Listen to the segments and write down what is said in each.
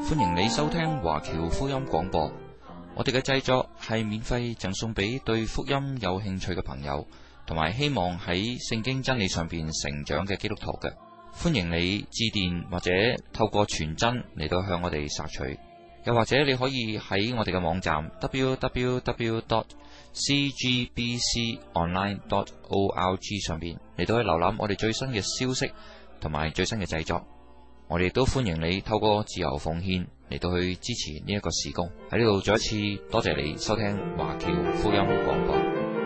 歡迎你收聽華僑福音廣播。我哋嘅製作係免費贈送俾對福音有興趣嘅朋友，同埋希望喺聖經真理上邊成長嘅基督徒嘅。歡迎你致電或者透過傳真嚟到向我哋索取，又或者你可以喺我哋嘅網站 www.cgbconline.org 上邊嚟到去瀏覽我哋最新嘅消息同埋最新嘅製作。我哋亦都歡迎你透過自由奉獻嚟到去支持呢一個事工。喺呢度再一次多謝你收聽華僑福音廣播。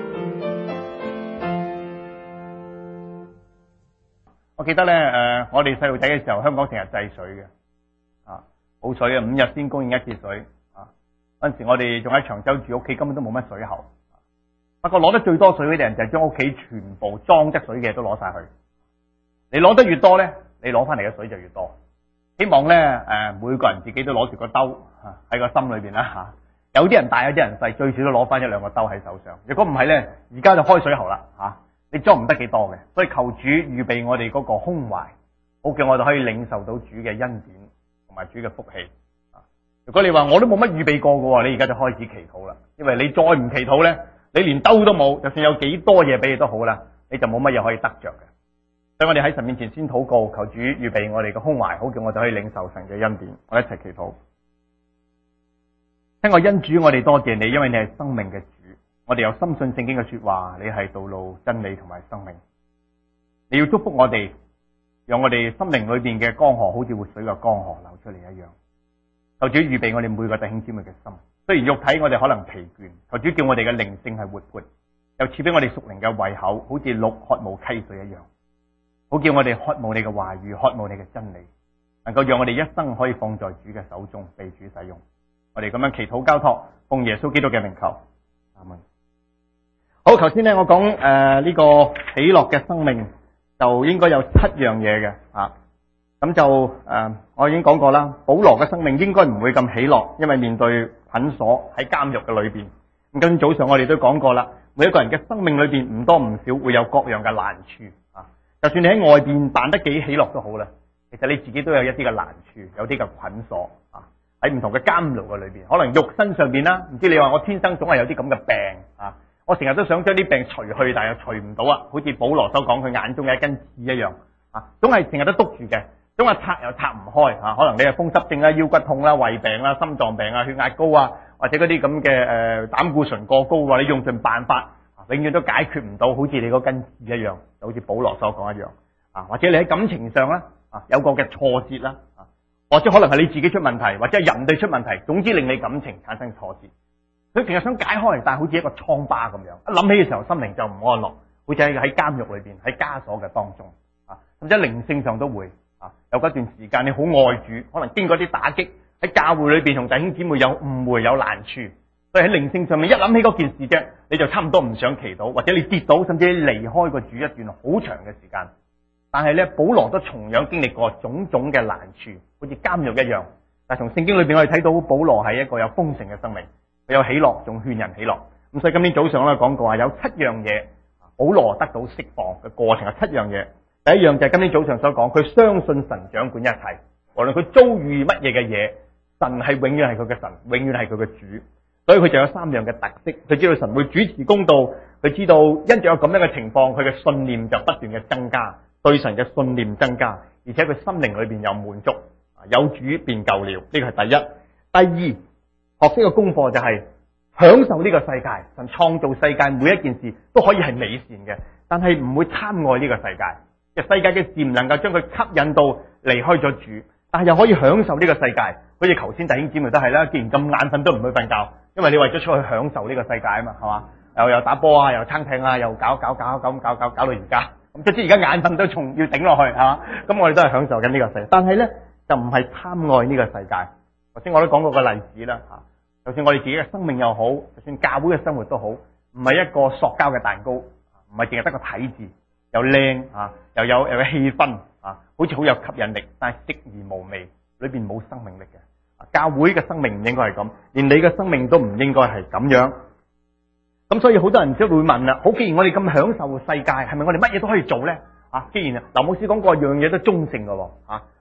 我記得咧，我哋細路仔嘅時候，香港成日制水嘅，冇水啊，5日先供應一次水啊。嗰陣時我哋仲喺長洲住，屋企根本都冇乜水喉。不過攞得最多水嗰啲人就係將屋企全部裝得水嘅都攞晒去。你攞得越多咧，你攞翻嚟嘅水就越多。希望咧，每個人自己都攞住個兜喺個心裏邊啦吓。有啲人大，有啲人細，最少都攞翻1-2個兜喺手上。如果唔係咧，而家就開水喉啦吓。你裝唔得幾多嘅，所以求主預備我哋嗰個胸懷，好叫我哋可以領受到主嘅恩典同埋主嘅福氣。如果你話我都冇乜預備過嘅，你而家就開始祈禱啦。因為你再唔祈禱咧，你連兜都冇，就算有幾多嘢俾你都好啦，你就冇乜嘢可以得着嘅。所以我哋喺神面前先禱告，求主預備我哋嘅胸懷，好叫我哋可以領受神嘅恩典。我哋一齊祈禱。聽我恩主，我哋多謝你，因為你係生命嘅主。我哋有深信聖經嘅說話，你係道路、真理同埋生命。你要祝福我哋，讓我哋心靈裏邊嘅江河好似活水嘅江河流出嚟一樣。求主預備我哋每個弟兄姊妹嘅心。雖然肉體我哋可能疲倦，求主叫我哋嘅靈性係活潑，又賜俾我哋屬靈嘅胃口，好似鹿渴慕溪水一樣。好叫我哋渴慕你嘅話語，渴慕你嘅真理，能夠讓我哋一生可以放在主嘅手中，被主使用。我哋咁樣祈禱交託，奉耶穌基督嘅名求，阿門。好，頭先咧我講呢個喜樂嘅生命就應該有7樣嘢嘅啊。咁就我已經講過啦，保羅嘅生命應該唔會咁喜樂，因為面對捆鎖喺監獄嘅裏邊。咁今早上我哋都講過啦，每一個人嘅生命裏邊唔多唔少會有各樣嘅難處啊。就算你喺外邊扮得幾喜樂都好啦，其實你自己都有一啲嘅難處，有啲嘅捆鎖啊。喺唔同嘅監牢嘅裏邊，可能肉身上邊啦，唔知你話我天生總係有啲咁嘅病啊。我成日都想將啲病除去，但係又除唔到啊！好似保羅所講，佢眼中嘅一根刺一樣啊，總係成日都督住嘅，總係拆又拆唔開啊！可能你係風濕症啦、腰骨痛啦、胃病啦、心臟病啊、血壓高啊，或者嗰啲咁嘅膽固醇過高啊，你用盡辦法永遠都解決唔到，好似你嗰根刺一樣，就好似保羅所講一樣啊！或者你喺感情上啦有個嘅挫折啦或者可能係你自己出問題，或者係人哋出問題，總之令你感情產生挫折。佢成日想解開，但係好似一個瘡疤咁樣，一諗起嘅時候心靈就唔安樂，好似喺監獄裏邊，喺枷鎖嘅當中啊，甚至喺靈性上都會有嗰段時間你好愛主，可能經過啲打擊，喺教會裏邊同弟兄姊妹有誤會有難處，所以喺靈性上面一諗起嗰件事啫，你就差唔多唔想祈禱，或者你跌倒，甚至你離開個主一段好長嘅時間。但係咧，保羅都同樣經歷過種種嘅難處，好似監獄一樣。但係從聖經裏邊我哋睇到保羅係一個有豐盛嘅生命。佢有喜樂，仲勸人喜樂。咁所以今天早上咧講過話有7樣嘢，保羅得到釋放嘅過程係7樣嘢。第一樣就係今天早上所講，佢相信神掌管一切，無論佢遭遇乜嘢嘅嘢，神係永遠係佢嘅神，永遠係佢嘅主。所以佢就有3樣嘅特色，佢知道神會主持公道，佢知道因着有咁樣嘅情況，佢嘅信念就不斷嘅增加，對神嘅信念增加，而且佢心靈裏邊有滿足，有主便夠了。呢個係第一。第二，學識嘅功課就係享受呢個世界，神創造世界每一件事都可以係美善嘅，但係唔會貪愛呢個世界。世界嘅事唔能夠將佢吸引到離開咗主，但係又可以享受呢個世界。好似頭先弟兄姊妹都係啦，既然咁眼瞓都唔去瞓覺，因為你為咗出去享受呢個世界啊嘛，係嘛？又打波啊，又撐艇啊，又搞到而家。咁即係而家眼瞓都仲要頂落去，係嘛？咁我哋都係享受緊呢個世界，但係咧就唔係貪愛呢個世界。頭先我都講過個例子啦吓。就算我哋自己嘅生命又好，就算教會嘅生活都好，唔係一個塑膠嘅蛋糕，唔係淨係得個體字，又靚又有氣氛好似好有吸引力，但係食而無味，裏邊冇生命力嘅。教會嘅生命唔應該係咁，連你嘅生命都唔應該係咁樣。咁所以好多人都會問啦，好，既然我哋咁享受世界，係咪我哋乜嘢都可以做咧？既然劉牧師講過樣嘢都中性嘅喎，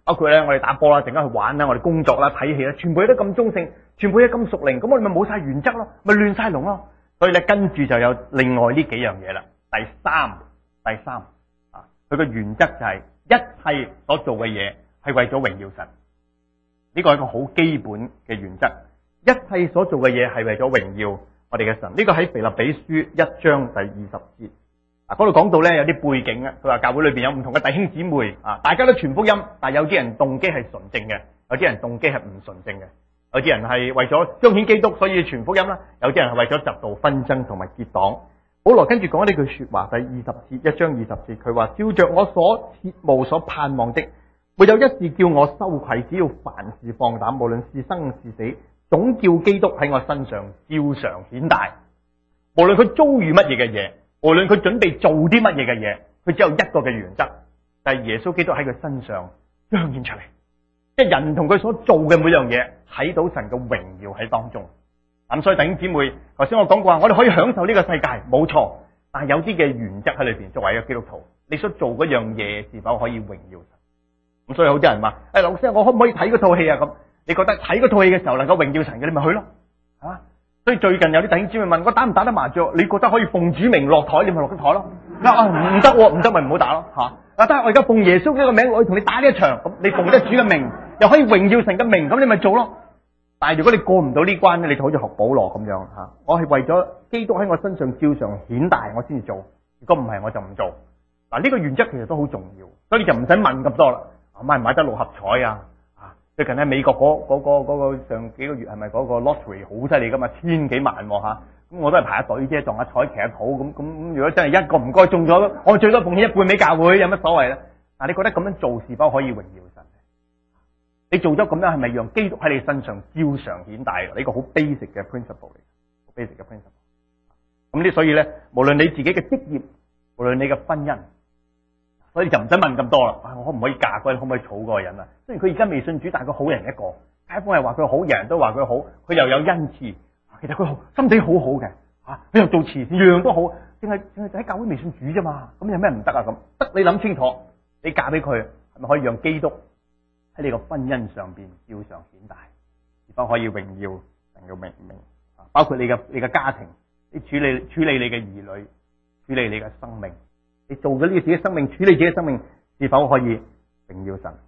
包括咧我哋打波啦，陣間去玩啦，我哋工作啦、睇戲啦，全部都咁中性，全部都咁屬靈，咁我哋咪冇晒原則咯，咪亂晒龍咯。所以咧跟住就有另外呢幾樣嘢啦。第三啊，佢個原則就係一切所做嘅嘢係為咗榮耀神，呢個係一個好基本嘅原則。一切所做嘅嘢係為咗榮耀我哋嘅神，呢個喺腓立比書1章第20節。嗰度講到咧有啲背景啊，佢話教會裏邊有唔同嘅弟兄姊妹啊，大家都傳福音，但係有啲人動機係純正嘅，有啲人動機係唔純正嘅，有啲人係為咗彰顯基督所以傳福音啦，有啲人係為咗嫉妒紛爭同埋結黨。保羅跟住講呢句說話，第20節1章20節，佢話照着我所切慕所盼望的，沒有一事叫我羞愧，只要凡事放膽，無論是生是死，總叫基督喺我身上照常顯大。無論佢遭遇乜嘢嘅嘢，無論佢準備做啲乜嘢嘅嘢，佢只有一個嘅原則，就係耶穌基督喺佢身上彰顯出嚟，即係人同佢所做嘅每樣嘢睇到神嘅榮耀喺當中。咁所以弟兄姊妹，頭先我講過話，我哋可以享受呢個世界，冇錯，但係有啲嘅原則喺裏邊。作為一個基督徒，你所做嗰樣嘢是否可以榮耀神？咁所以好多人話：老師，我可唔可以睇嗰套戲啊？咁你覺得睇嗰套戲嘅時候能夠榮耀神嘅，你咪去咯，係嘛？所以最近有啲弟兄姊妹問我打唔打得麻雀？你覺得可以奉主名落台，你咪落咗台咯。唔得，唔得咪唔好打咯吓。但係我而家奉耶穌呢個名，我要同你打呢一場，咁你奉得主嘅名，又可以榮耀神嘅名，咁你咪做咯。但係如果你過唔到呢關咧，你就好似學保羅咁樣吓。我係為咗基督喺我身上照常顯大，我先至做。如果唔係，我就唔做。嗱，呢個原則其實都好重要，所以你就唔使問咁多啦。買唔買得六合彩啊？最近喺美國嗰個上幾個月係咪嗰個 lottery 好犀利噶嘛，1000幾萬吓，咁我都係排下隊啫，撞下彩騎下土咁。如果真係一個唔該中咗，我最多奉獻一半俾教會，有乜所謂咧？嗱，你覺得咁樣做是否可以榮耀神？你做咗咁樣係咪讓基督喺你身上照常顯大？呢個好 basic 嘅 principle 嚟，好 basic 嘅 principle。咁所以咧，無論你自己嘅職業，無論你嘅婚姻。所以就唔使問咁多啦。我可唔可以嫁嗰人？可唔可以娶嗰個人啊？雖然佢而家未信主，但係佢好人一個。街坊係話佢好，人人都話佢好。佢又有恩賜，其實佢心地好好嘅。佢又做慈善，樣樣都好。淨係喺教會未信主啫嘛。咁有咩唔得啊？咁得你諗清楚，你嫁俾佢係咪可以讓基督喺你個婚姻上邊照常顯大，而否可以榮耀神嘅名？包括你嘅家庭，你處理你嘅兒女，處理你嘅生命。你做咗呢個自己生命，處理自己生命，是否可以榮耀神？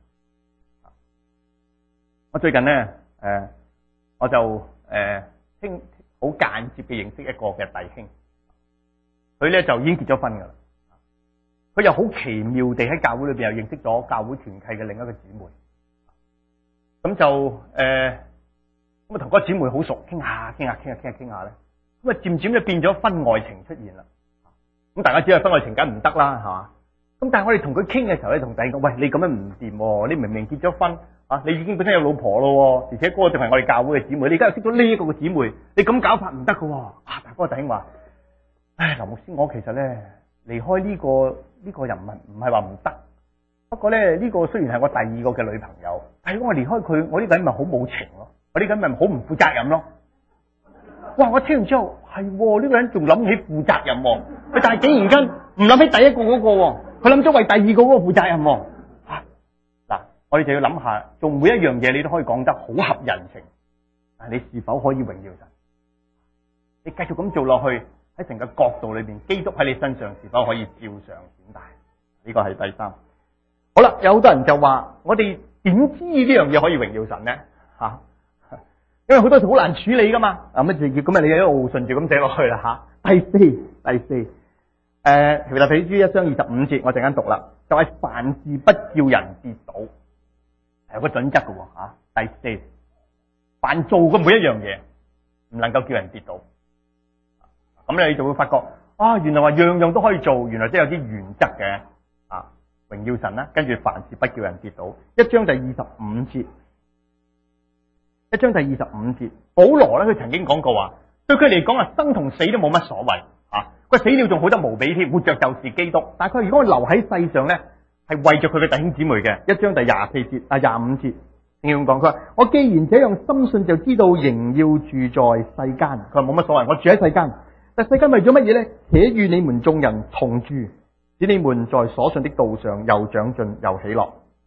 我最近咧，我就好間接嘅認識一個嘅弟兄，佢咧就已經結咗婚噶啦。佢又好奇妙地喺教會裏邊又認識咗教會團契嘅另一個姊妹。咁就咁啊，同嗰個姊妹好熟，傾下咧，咁啊漸漸就變咗婚外情出現啦。咁大家知道婚外情梗唔得啦，係嘛？咁但係我哋同佢傾嘅時候咧，同弟兄講：喂，你咁樣唔掂，你明明結咗婚啊，你已經本身有老婆咯，而且嗰個就係我哋教會嘅姊妹，你而家又識咗呢一個嘅姊妹，你咁搞法唔得噶。但係嗰個弟兄話：唉，林牧師，我其實咧離開呢個人唔係話唔得，不過咧呢個雖然係我第二個嘅女朋友，但係如果我離開佢，我呢個人咪好冇情咯，我呢個人咪好唔負責任咯。哇！我聽完之後係呢個人仲諗起負責任，佢但係竟然間唔諗起第一個嗰個，佢諗咗為第二個嗰個負責任。嗱，我哋就要諗下，做每一樣嘢你都可以講得好合人情，但係你是否可以榮耀神？你繼續咁做落去，喺成個角度裏邊，基督喺你身上是否可以照常顯大？呢個係第三。好啦，有好多人就話：我哋點知呢樣嘢可以榮耀神呢？吓？因為好多時好難處理噶嘛，乜就咁你一路順住咁寫落去啦吓。第四，腓立比書1章25節，我陣間讀啦，就係凡事不叫人跌倒，係有個準則噶吓。第四，凡做嘅每一樣嘢唔能夠叫人跌倒，咁你就會發覺原來話樣樣都可以做，原來即係有啲原則嘅榮耀神啦。跟住凡事不叫人跌倒，1章第25節。1章第25節，保羅咧佢曾經講過話，對佢嚟講生同死都冇乜所謂佢死了仲好得無比添，活着就是基督。但係佢如果留喺世上咧，係為着佢嘅弟兄姊妹嘅。1章第24節25節，點樣講？佢話：我既然這樣深信，就知道仍要住在世間。佢話冇乜所謂，我住喺世間。但世間為咗乜嘢咧？且與你們眾人同住，使你們在所信的道上又長進又喜樂。保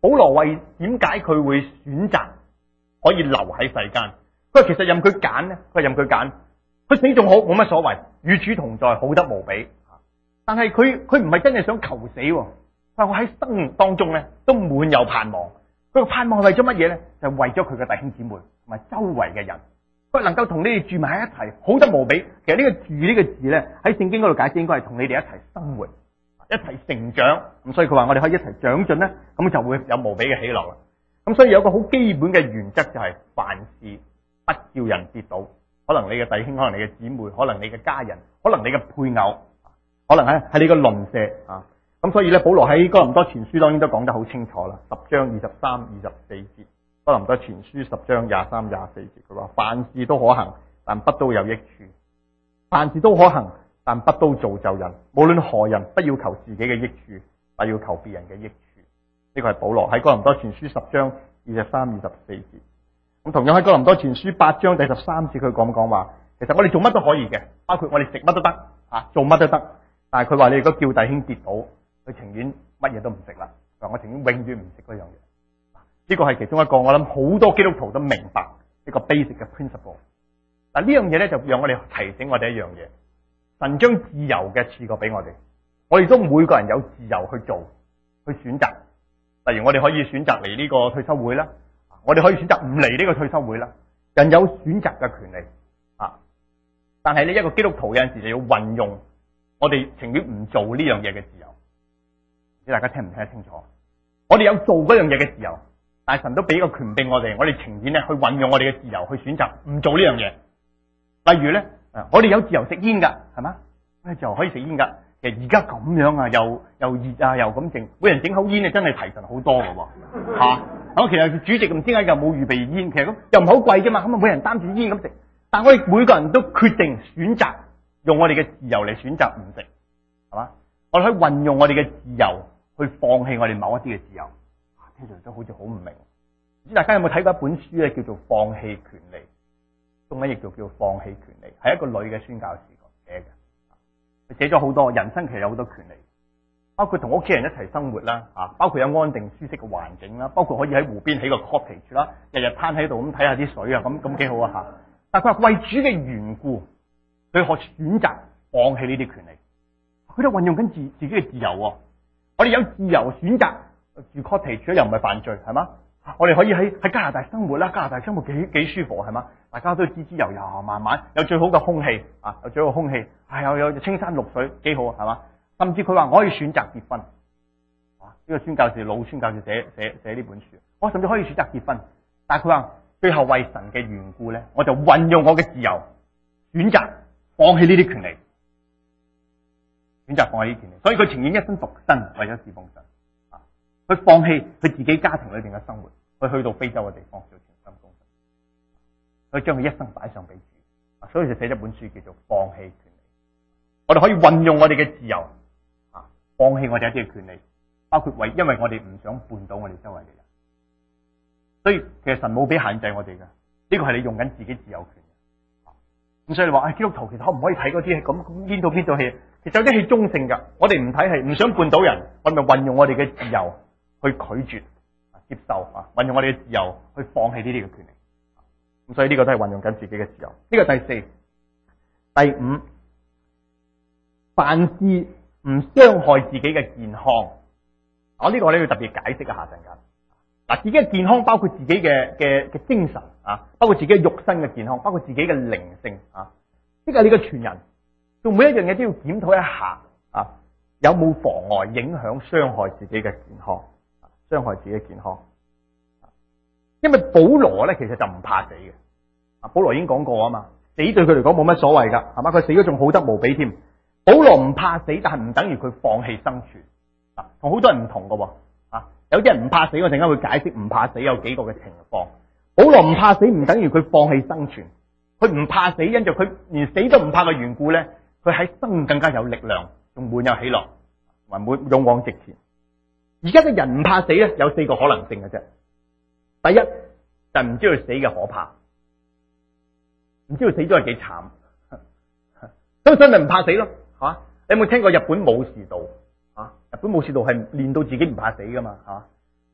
保羅為點解佢會選擇可以留喺世間？佢話其實任佢揀咧，佢任佢揀，佢死仲好，冇乜所謂，與主同在，好得無比。但係佢唔係真係想求死，佢話我喺生命當中咧都滿有盼望。佢個盼望係為咗乜嘢咧？就係為咗佢嘅弟兄姊妹同埋周圍嘅人，佢能夠同你哋住埋喺一齊，好得無比。其實呢個住呢個字咧喺聖經嗰度解釋應該係同你哋一齊生活，一齊成長。咁所以佢話我哋可以一齊長進咧，咁就會有無比嘅喜樂啦。咁所以有個好基本嘅原則就係凡事不叫人跌倒。可能你嘅弟兄，可能你嘅姊妹，可能你嘅家人，可能你嘅配偶，可能係你嘅鄰舍啊。咁所以咧，保羅喺哥林多前書當然都講得好清楚啦。10章23、24節，哥林多前書10章23、24節，佢話凡事都可行，但不都有益處；凡事都可行，但不都造就人。無論何人，不要求自己嘅益處，但要求別人嘅益處。呢個係保羅喺哥林多前書10章23、24節。咁同樣喺哥林多前書8章第13節，佢講話，其實我哋做乜都可以嘅，包括我哋食乜都得啊，做乜都得。但係佢話你如果叫弟兄跌倒，佢情願乜嘢都唔食啦。佢話我情願永遠唔食嗰樣嘢。呢個係其中一個我諗好多基督徒都明白一個 basic 嘅 principle。嗱，呢樣嘢咧就讓我哋提醒我哋一樣嘢，神將自由嘅賜過俾我哋，我哋都每個人有自由去做去選擇。例如我哋可以選擇嚟呢個退休會啦，我哋可以選擇唔嚟呢個退休會啦。人有選擇嘅權利啊，但係呢一個基督徒有陣時就要運用我哋情願唔做呢樣嘢嘅自由。唔知大家聽唔聽得清楚？我哋有做嗰樣嘢嘅自由，但係神都俾個權柄我哋情願咧去運用我哋嘅自由去選擇唔做呢樣嘢。例如咧，我哋有自由食煙噶，係嘛？我哋就可以食煙噶。其實而家咁樣啊，又熱啊，又咁整，每人整口煙啊，真係提神好多噶喎嚇。咁其實主席唔知點解又冇預備煙，其實咁又唔係好貴啫嘛。咁啊，每人擔住煙咁食，但係我哋每個人都決定選擇用我哋嘅自由嚟選擇唔食，係嘛？我哋可以運用我哋嘅自由去放棄我哋某一啲嘅自由。聽住都好似好唔明。唔知大家有冇睇過一本書咧，叫做《放棄權利》，中文譯做叫《放棄權利》，係一個女嘅宣教士寫嘅。佢寫咗好多人生，其實有好多權利，包括同屋企人一齊生活啦，包括有安定舒適嘅環境啦，包括可以喺湖邊起個 cottage 啦，日日攤喺度咁睇下啲水啊，咁幾好啊吓。但係佢話為主嘅緣故，佢可選擇放棄呢啲權利，佢都運用緊自己嘅自由。我哋有自由選擇住 cottage 又唔係犯罪，係嘛？我哋可以喺加拿大生活啦，加拿大生活幾舒服，係嘛？大家都滋滋油油，慢慢有最好嘅空氣啊，有最好嘅空氣，係有青山綠水，幾好係嘛？甚至佢話我可以選擇結婚，呢個宣教士老宣教士寫呢本書，我甚至可以選擇結婚，但係佢話最後為神嘅緣故咧，我就運用我嘅自由選擇放棄呢啲權利，選擇放棄呢啲權利，所以佢情願一生獨身為咗侍奉神。佢放棄佢自己家庭裏邊嘅生活，佢去到非洲嘅地方做全心工作，佢將佢一生擺上俾主，所以就寫咗本書叫做《放棄權利》。我哋可以運用我哋嘅自由，放棄我哋一啲嘅權利，包括因為我哋唔想絆倒我哋周圍嘅人。所以其實神冇俾限制我哋嘅，呢個係你用緊自己自由權。咁所以你話基督徒其實可唔可以睇嗰啲戲咁邊套戲？其實有啲戲中性噶，我哋唔睇戲，唔想絆倒人，我哋咪運用我哋嘅自由去拒絕接受運用我哋嘅自由去放棄呢啲嘅權利。咁所以呢個都係運用緊自己嘅自由。呢個第四、第五，凡事唔傷害自己嘅健康。呢個我哋要特別解釋一下陣間。嗱，自己嘅健康包括自己嘅精神包括自己嘅肉身嘅健康，包括自己嘅靈性呢個係你嘅全人，做每一樣嘢都要檢討一下有冇妨礙、影響、傷害自己嘅健康。傷害自己嘅健康，因為保羅咧其實就唔怕死嘅。保羅已經講過啊嘛，死對佢嚟講冇乜所謂噶，係嘛？佢死咗仲好得無比添。保羅唔怕死，但係唔等於佢放棄生存。同好多人唔同噶。有啲人唔怕死，我陣間會解釋唔怕死有幾個嘅情況。保羅唔怕死，唔等於佢放棄生存。佢唔怕死，因住佢連死都唔怕嘅緣故咧，佢喺生命更加有力量，仲滿有喜樂，同埋勇往直前。而家嘅人唔怕死咧，有4個可能性嘅啫。第一就係唔知道死嘅可怕，唔知道死咗係幾慘，咁所以咪唔怕死咯，係嘛？你有冇聽過日本武士道？日本武士道係練到自己唔怕死噶嘛，係嘛？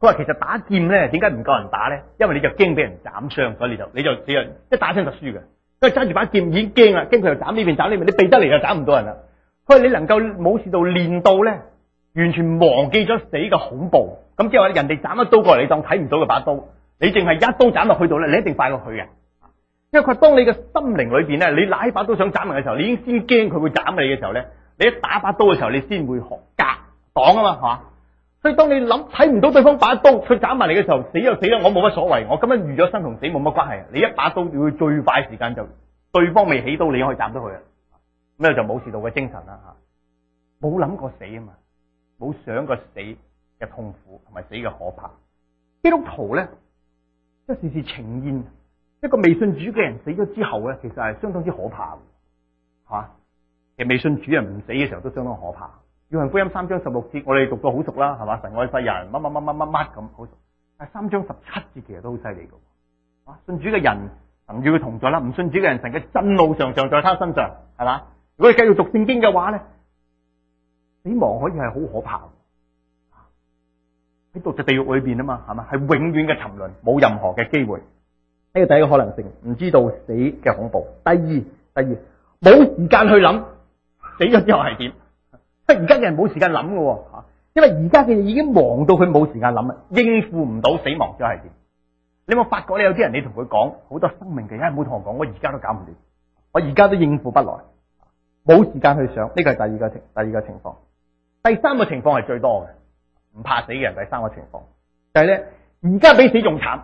佢話其實打劍咧，點解唔夠人打咧？因為你就驚俾人斬傷，所以你就一打親就輸嘅。因為揸住把劍已經驚啦，驚佢又斬呢邊斬呢邊，你避得嚟就斬唔到人啦。佢話你能夠武士道練到咧，完全忘記咗死嘅恐怖。咁即係話人哋斬一刀過嚟，你當睇唔到嘅把刀，你淨係一刀斬落去到咧，你一定快過佢嘅。因為佢話當你嘅心靈裏邊咧，你拿起把刀想斬人嘅時候，你已經先驚佢會斬你嘅時候咧，你一打把刀嘅時候，你先會學格擋啊嘛，係嘛？所以當你諗睇唔到對方把刀，佢斬埋嚟嘅時候，死就死啦，我冇乜所謂，我今日預咗生同死冇乜關係。你一把刀，你會最快時間就對方未起刀，你可以斬到佢啊！咁就武士道嘅精神啦吓，冇諗過死啊嘛，冇想過死嘅痛苦同埋死嘅可怕。基督徒咧，即係時時呈現一個未信主嘅人死咗之後咧，其實係相當之可怕嘅，係嘛？其實未信主人唔死嘅時候都相當可怕。約翰福音3章16節，我哋讀到好熟啦，係嘛？神愛世人，乜咁好熟。但係3章17節其實都好犀利嘅。啊，信主嘅人神與佢同在啦，唔信主嘅人神嘅震怒常常在他身上，係嘛？如果你繼續讀聖經嘅話咧，死亡可以係好可怕嘅。喺度就地獄裏邊啊嘛，係嘛？係永遠嘅沉淪，冇任何嘅機會。呢個第一個可能性，唔知道死嘅恐怖。第二，冇時間去諗死咗之後係點。即係而家嘅人冇時間諗嘅，吓，因為而家嘅人已經忙到佢冇時間諗啦，應付唔到死亡之後係點。你有冇發覺咧？有啲人你同佢講好多生命嘅，唔好同我講，我而家都搞唔掂，我而家都應付不來，冇時間去想。呢個係第二個情況。第三個情況係最多嘅，唔怕死嘅人。第三個情況就係咧，而家比死仲慘。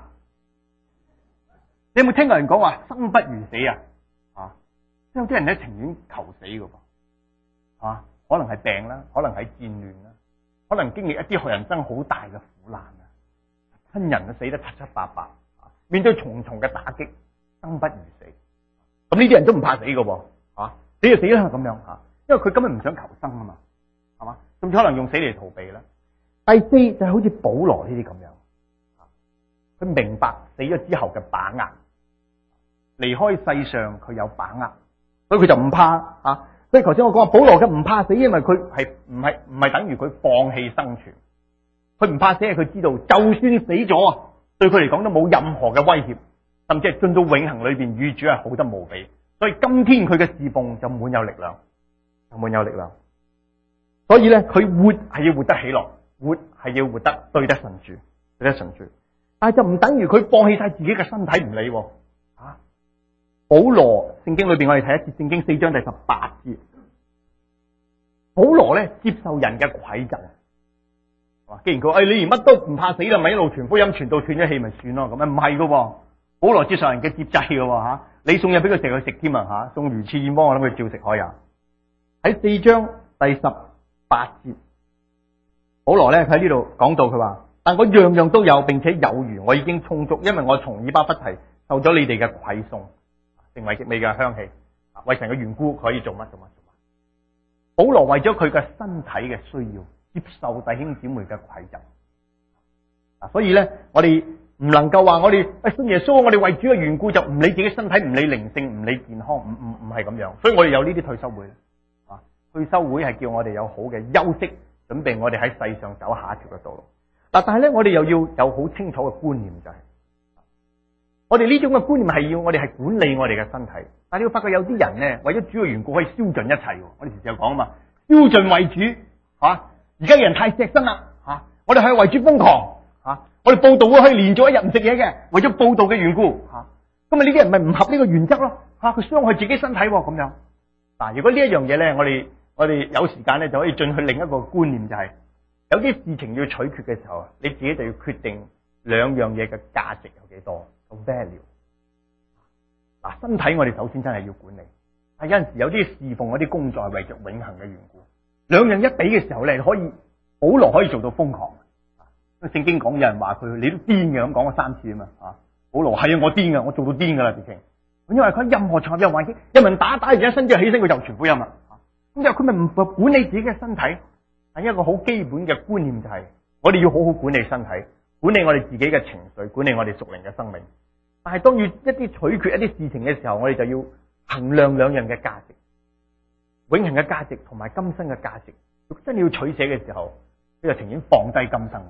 你有冇聽過人講話生不如死啊？啊，有啲人咧情願求死嘅噃，啊。可能係病啦，可能係戰亂啦，可能經歷一啲人生好大嘅苦難啊，親人都死得七七八八，面對重重嘅打擊，生不如死。咁呢啲人都唔怕死嘅喎，死就死啦咁樣吓，因為佢根本唔想求生啊嘛，係嘛，甚至可能用死嚟逃避啦。第四就係好似保羅呢啲咁樣，佢明白死咗之後嘅把握，離開世上佢有把握，所以佢就唔怕啊。所以頭先我講話保羅嘅唔怕死，因為佢係唔係等於佢放棄生存。佢唔怕死係佢知道，就算死咗啊，對佢嚟講都冇任何嘅威脅，甚至係進到永恆裏邊與主係好得無比。所以今天佢嘅侍奉就滿有力量，所以咧，佢活係要活得喜樂，活係要活得對得順住，但係就唔等於佢放棄晒自己嘅身體唔理。保羅聖經裏邊，我哋睇一節聖經4章第18節。保羅咧接受人嘅詭責，既然佢你連乜都唔怕死啦，咪一路傳福音傳到斷咗氣咪算咯，咁樣唔係噶。保羅接受人嘅接濟噶吓，你送嘢俾佢食佢食添啊吓，送魚翅燕窩我諗佢照食可以。喺4章第18節，保羅咧喺呢度講到佢話，但我樣樣都有，並且有餘，我已經充足，因為我從以巴弗提受咗你哋嘅饋送。成為極美嘅香氣，為神嘅緣故，佢可以做乜。保羅為咗佢嘅身體嘅需要，接受弟兄姊妹嘅饋贈。所以咧，我哋唔能夠話我哋信耶穌，我哋為主嘅緣故就唔理自己身體，唔理靈性，唔理健康，唔係咁樣。所以我哋有呢啲退休會，退休會係叫我哋有好嘅休息，準備我哋喺世上走下一條嘅道路。但係咧，我哋又要有好清楚嘅觀念，就係我哋呢種嘅觀念係要我哋係管理我哋嘅身體，但係你會發覺有啲人咧為咗主嘅緣故可以燒盡一切。我哋時時有講啊嘛，燒盡為主吓。而家嘅人太錫身啦吓，我哋可以為主瘋狂吓，我哋報道會可以連續一日唔食嘢嘅，為咗報道嘅緣故吓。咁啊呢啲人咪唔合呢個原則咯吓，佢傷害自己身體咁樣。嗱，如果呢一樣嘢咧，我哋有時間咧就可以進去另一個觀念，就係有啲事情要取決嘅時候，你自己就要決定兩樣嘢嘅價值有幾多。value 嗱，身體我哋首先真係要管理，但有陣時有啲侍奉嗰啲工作係為着永恆嘅緣故，兩樣一比嘅時候咧，可以保羅可以做到瘋狂。聖經講有人話佢你都癲嘅，咁講咗3次啊嘛。保羅係啊，我癲嘅，我做到癲噶啦直情。因為佢任何場合任何環境，有人打完一身之後起身，佢就傳福音啦。咁就佢咪唔管理自己嘅身體？係一個好基本嘅觀念，就係我哋要好好管理身體。管理我哋自己嘅情緒，管理我哋屬靈嘅生命。但係當要一啲取決一啲事情嘅時候，我哋就要衡量兩樣嘅價值，永恆嘅價值同埋今生嘅價值。如果真係要取捨嘅時候，你就情願放低今生嘅，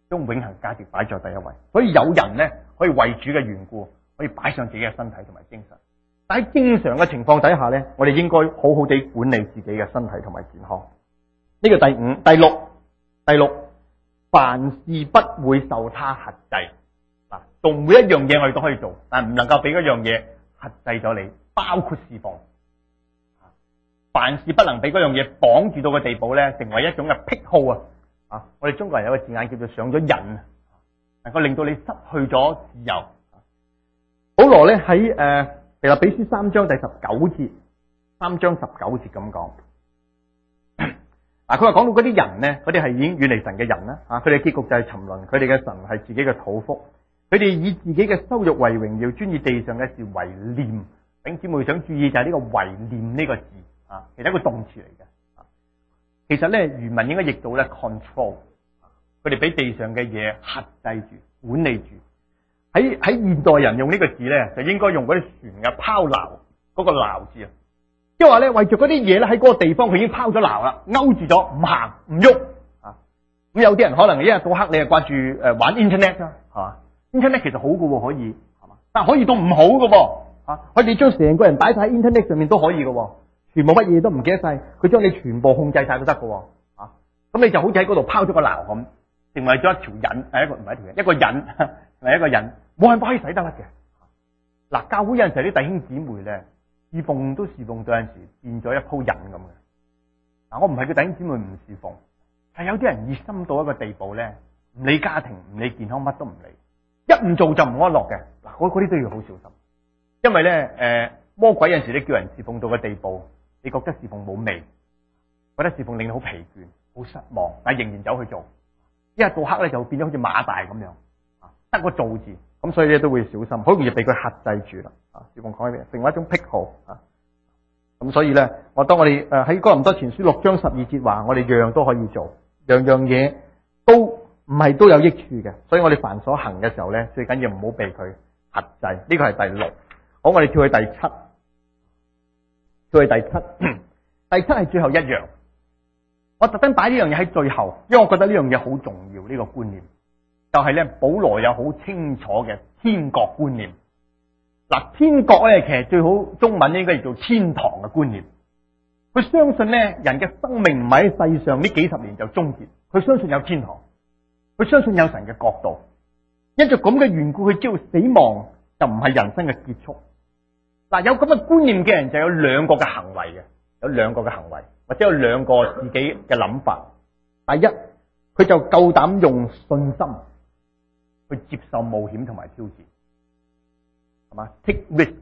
將永恆價值擺在第一位。所以有人咧可以為主嘅緣故，可以擺上自己嘅身體同埋精神。但喺正常嘅情況底下咧，我哋應該好好地管理自己嘅身體同埋健康。呢個第六，凡事不會受他轄制。嗱，做每一樣嘢我哋都可以做，但係唔能夠俾嗰樣嘢轄制咗你，包括侍奉。凡事不能俾嗰樣嘢綁住到嘅地步咧，成為一種嘅癖好啊！我哋中國人有個字眼叫做上咗癮，能夠令到你失去咗自由。保羅咧喺腓立比書3章第19節，3章19節咁講。嗱，佢話講到嗰啲人咧，嗰啲係已經遠離神嘅人啦，佢哋嘅結局就係沉淪，佢哋嘅神係自己嘅肚腹，佢哋以自己嘅羞辱為榮耀，專以地上嘅事為念。弟兄姊妹想注意就係呢個為念呢個字啊，其實一個動詞嚟嘅。其實咧原文應該譯到咧 control， 佢哋俾地上嘅嘢轄制住、管理住。喺現代人用呢個字咧，就應該用嗰啲船嘅拋錨嗰個錨字啊。即係話咧，為咗嗰啲嘢咧，喺嗰個地方佢已經拋咗錨啦，勾住咗，唔行唔喐啊。咁有啲人可能一日到黑你係掛住玩 internet 啊，係嘛？internet 其實好嘅，可以係嘛？但係可以到唔好嘅啊，可以將成個人擺晒喺 internet 上面都可以嘅，全部乜嘢都唔記得晒，佢將你全部控制晒都得嘅啊。咁你就好似喺嗰度拋咗個錨咁，成為咗一條引，係一個唔係一條引，一個引係一個引，冇辦法可以使得甩嘅。嗱，教會有陣時啲弟兄姊妹咧，侍奉都侍奉到有陣時變咗一鋪癮咁嘅。嗱，我唔係叫弟兄姊妹唔侍奉，係有啲人熱心到一個地步咧，唔理家庭唔理健康乜都唔理，一唔做就唔安樂嘅。嗱，嗰啲都要好小心，因為咧魔鬼有陣時你叫人侍奉到嘅地步，你覺得侍奉冇味，覺得侍奉令你好疲倦、好失望，但係仍然走去做，一日到黑咧就變咗好似馬大咁樣，得個做字，咁所以咧都會小心，好容易被佢轄制住啦。侍奉講起咩？成為一種癖好啊！咁所以咧，當我哋喺哥林多前書6章12節話，我哋樣樣都可以做，樣樣嘢都唔係都有益處嘅，所以我哋凡所行嘅時候咧，最緊要唔好被佢轄制。呢個係第6。好，我哋跳去第7。第7係最後一樣。我特登擺呢樣嘢喺最後，因為我覺得呢樣嘢好重要。呢個觀念就係咧，保羅有好清楚嘅天國觀念。嗱，天國咧其實最好中文應該叫做天堂嘅觀念。佢相信咧，人嘅生命唔係喺世上呢幾十年就終結，佢相信有天堂，佢相信有神嘅國度。因着咁嘅緣故，佢知道死亡就唔係人生嘅結束。嗱，有咁嘅觀念嘅人就有兩個嘅行為嘅，有兩個嘅行為，或者有兩個自己嘅諗法。第一，佢就夠膽用信心去接受冒險同埋挑戰，係嘛？Take risk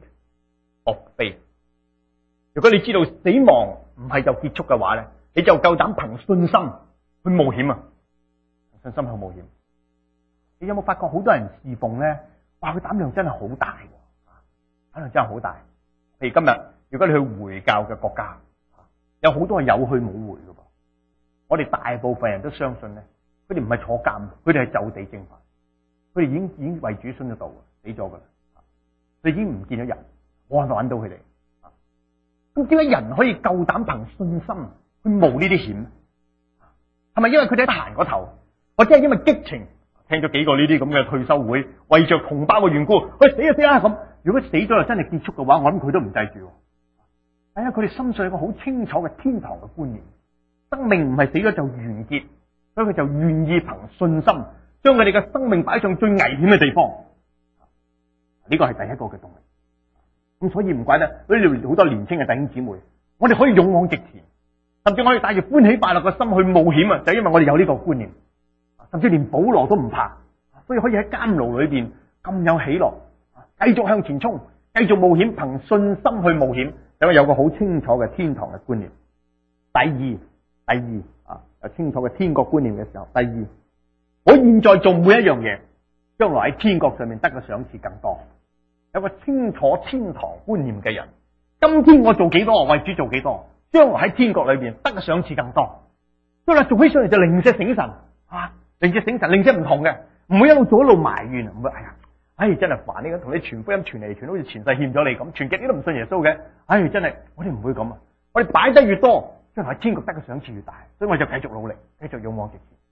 of faith。如果你知道死亡唔係就結束嘅話咧，你就夠膽憑信心去冒險啊！信心去冒險。你有冇發覺好多人侍奉咧？哇，佢膽量真係好大。可能真係好大，譬如今日，如果你去回教嘅國家，有好多係有去冇回嘅噃。我哋大部分人都相信咧，佢哋唔係坐監，佢哋係就地正法，佢哋已經為主殉咗道，死咗噶啦，佢已經唔見咗人，冇辦法揾到佢哋。咁點解人可以夠膽憑信心去冒呢啲險？係咪因為佢哋喺行嗰頭，或者係因為激情？聽咗幾個呢啲咁嘅退休會，為着同胞嘅緣故，佢死就死啦咁。如果死咗就真係結束嘅話，我諗佢都唔制住。係啊，佢哋心上有個好清楚嘅天堂嘅觀念，生命唔係死咗就完結，所以佢就願意憑信心將佢哋嘅生命擺上最危險嘅地方。呢個係第一個嘅動力。咁所以唔怪得呢度好多年輕嘅弟兄姊妹，我哋可以勇往直前，甚至我哋帶住歡喜快樂嘅心去冒險啊！就因為我哋有呢個觀念，甚至連保羅都唔怕，所以可以喺監牢裏邊咁有喜樂。繼續向前衝，繼續冒險，憑信心去冒險，因為有個好清楚嘅天堂嘅觀念。第二有清楚嘅天國觀念嘅時候，第二，我現在做每一樣嘢，將來喺天國上面得嘅賞賜更多。有個清楚天堂觀念嘅人，今天我做幾多，為主做幾多，將來喺天國裏邊得嘅賞賜更多。將來做起上嚟就零舍醒神零舍醒神，零舍唔同嘅，唔會一路做一路埋怨，唔會真係煩呢個，同你傳福音傳嚟傳，好似前世欠咗你咁，傳極你都唔信耶穌嘅，真係我哋唔會咁啊！我哋擺得越多，將來喺天國得嘅賞賜越大，所以我就繼續努力，繼續勇往直前。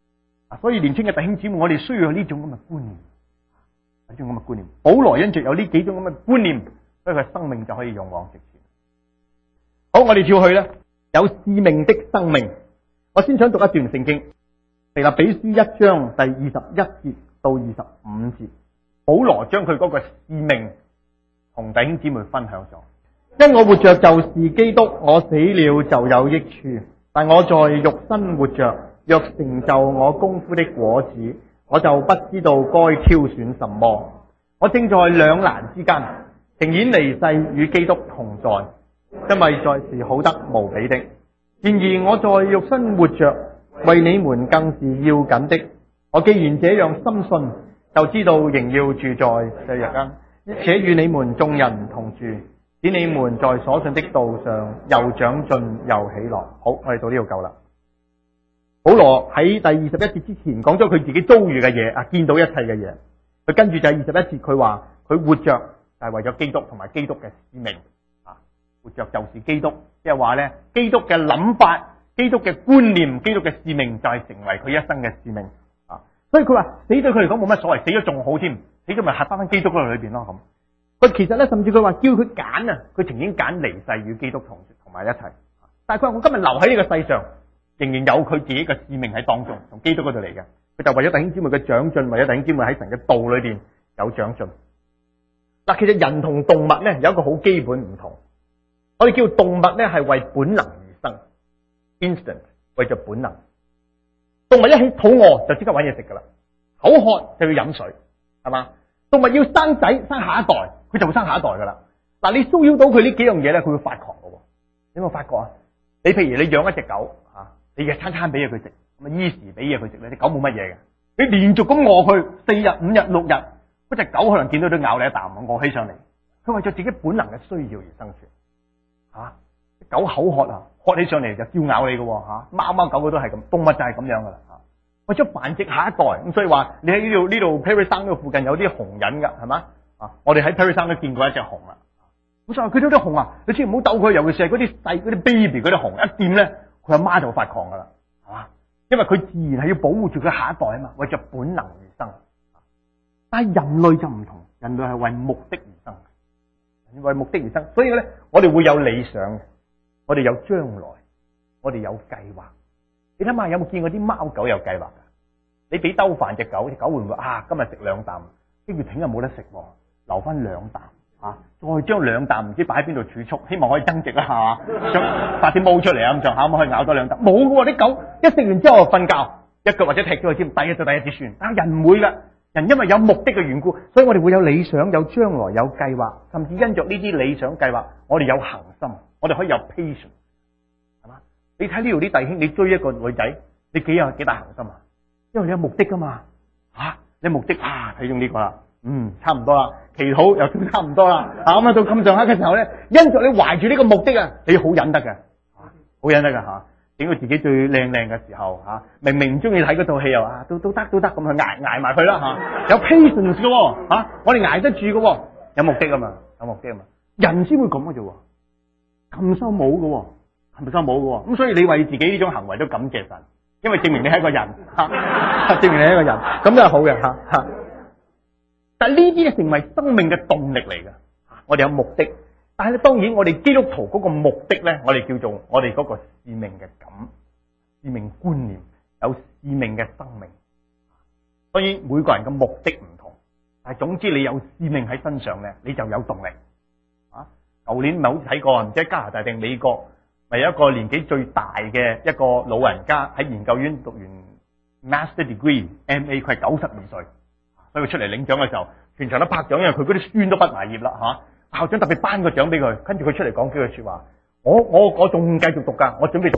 所以年輕嘅弟兄姊妹，我哋需要有呢種咁嘅觀念，呢種咁嘅觀念。保羅因着有呢幾種咁嘅觀念，所以佢生命就可以勇往直前。好，我哋跳去咧，有使命的生命。我先想讀一段聖經，腓立比書1章第21節到25節。保羅將佢嗰個使命同弟兄姊妹分享咗。因我活着就是基督，我死了就有益處。但我在肉身活着，若成就我功夫的果子，我就不知道該挑選什麼。我正在兩難之間，情願離世與基督同在，因為在是好得無比的。然而我在肉身活着，為你們更是要緊的。我既然這樣深信，就知道仍要住在這日間，且與你們眾人同住，使你們在所信的道上又長進又喜樂。好，我哋到呢度夠啦。保羅喺第21節之前講咗佢自己遭遇嘅嘢，見到一切嘅嘢。佢跟住就係21節，佢話佢活着就係為咗基督同埋基督嘅使命。活着就是基督，即係話咧，基督嘅諗法、基督嘅觀念、基督嘅使命就係成為佢一生嘅使命。所以佢話死對佢嚟講冇乜所謂，死咗仲好添，死咗咪合翻基督嗰度裏邊咯咁。佢其實咧，甚至佢話叫佢揀啊，佢情願揀離世與基督同埋一齊。但係佢話我今日留喺呢個世上，仍然有佢自己嘅使命喺當中，從基督嗰度嚟嘅。佢就為咗弟兄姊妹嘅長進，為咗弟兄姊妹喺神嘅道裏邊有長進。嗱，其實人同動物咧有一個好基本唔同。我哋叫動物咧係為本能而生 ，instinct 為咗本能。動物一起肚餓就即刻搵嘢食噶啦，口渴就要飲水，係嘛？動物要生仔生下一代，佢就會生下一代噶啦。嗱，你騷擾到佢呢幾樣嘢咧，佢會發狂噶。你有冇發覺啊？你譬如你養一隻狗你日餐餐俾嘢佢食，咁啊依時俾嘢佢食咧，啲狗冇乜嘢嘅。你連續咁餓佢4日、5日、6日，嗰隻狗可能見到都咬你一啖，餓起上嚟。佢為咗自己本能嘅需要而生存。狗口渴啊，渴起上嚟就叫咬你嘅，貓貓狗狗都係咁，動物就係咁樣噶啦，為咗繁殖下一代，咁所以話你喺呢度 Perry 山呢度附近有啲熊人噶，係嘛？我哋喺 Perry 山都見過一隻熊啦。咁所以佢都啲熊啊，你千祈唔好鬥佢，尤其是係嗰啲細嗰啲 baby 嗰啲熊，一掂咧佢阿媽就會發狂噶啦，係嘛？因為佢自然係要保護住佢下一代啊嘛，為咗本能而生。但係人類就唔同，人類係為目的而生。為目的而生，所以咧，我哋會有理想，我哋有將來，我哋有計劃。你諗下，有冇見過啲貓狗有計劃噶？你俾兜飯隻狗，隻狗會唔會今日食2啖，跟住聽日冇得食，留翻2啖再將2啖唔知擺喺邊度儲蓄，希望可以增值啦，係嘛？想發啲毛出嚟咁上下，可以咬多2啖。冇噶，啲狗一食完之後瞓覺，一腳或者踢咗佢添，第一就第一節算。但係人唔會噶。人因為有目的嘅緣故，所以我哋會有理想、有將來、有計劃，甚至因着呢啲理想計劃，我哋有恆心，我哋可以有 patience， 係嘛？你睇呢度啲弟兄，你追一個女仔，你幾大恆心啊？因為你有目的噶嘛，你目的睇中呢個啦，差唔多啦，祈禱又都差唔多啦，咁到咁上下嘅時候咧，因着你懷住呢個目的啊，你好忍得嘅，好忍得噶整到自己最靚嘅時候明明唔中意睇嗰套戲又都得咁去挨埋佢啦有 patience 嘅我哋挨得住嘅有目的啊嘛，人先會咁嘅啫，咁收冇嘅，係咪收冇嘅？咁所以你為自己呢種行為都感謝神，因為證明你係一個人證明你係一個人，咁都係好嘅但係呢啲成為生命嘅動力嚟嘅，我哋有目的。但係咧，當然我哋基督徒嗰個目的咧，我哋叫做我哋嗰個使命嘅使命觀念，有使命嘅生命。當然每個人嘅目的唔同，但係總之你有使命喺身上咧，你就有動力。舊年咪好似睇過，唔知喺加拿大定美國，咪有一個年紀最大嘅一個老人家喺研究院讀完 Master Degree MA， 佢係92歲，所以佢出嚟領獎嘅時候，全場都拍掌，因為佢嗰啲孫都畢埋業啦校長特別頒個獎俾佢，跟住佢出嚟講幾句說話。我仲繼續讀噶，我準備讀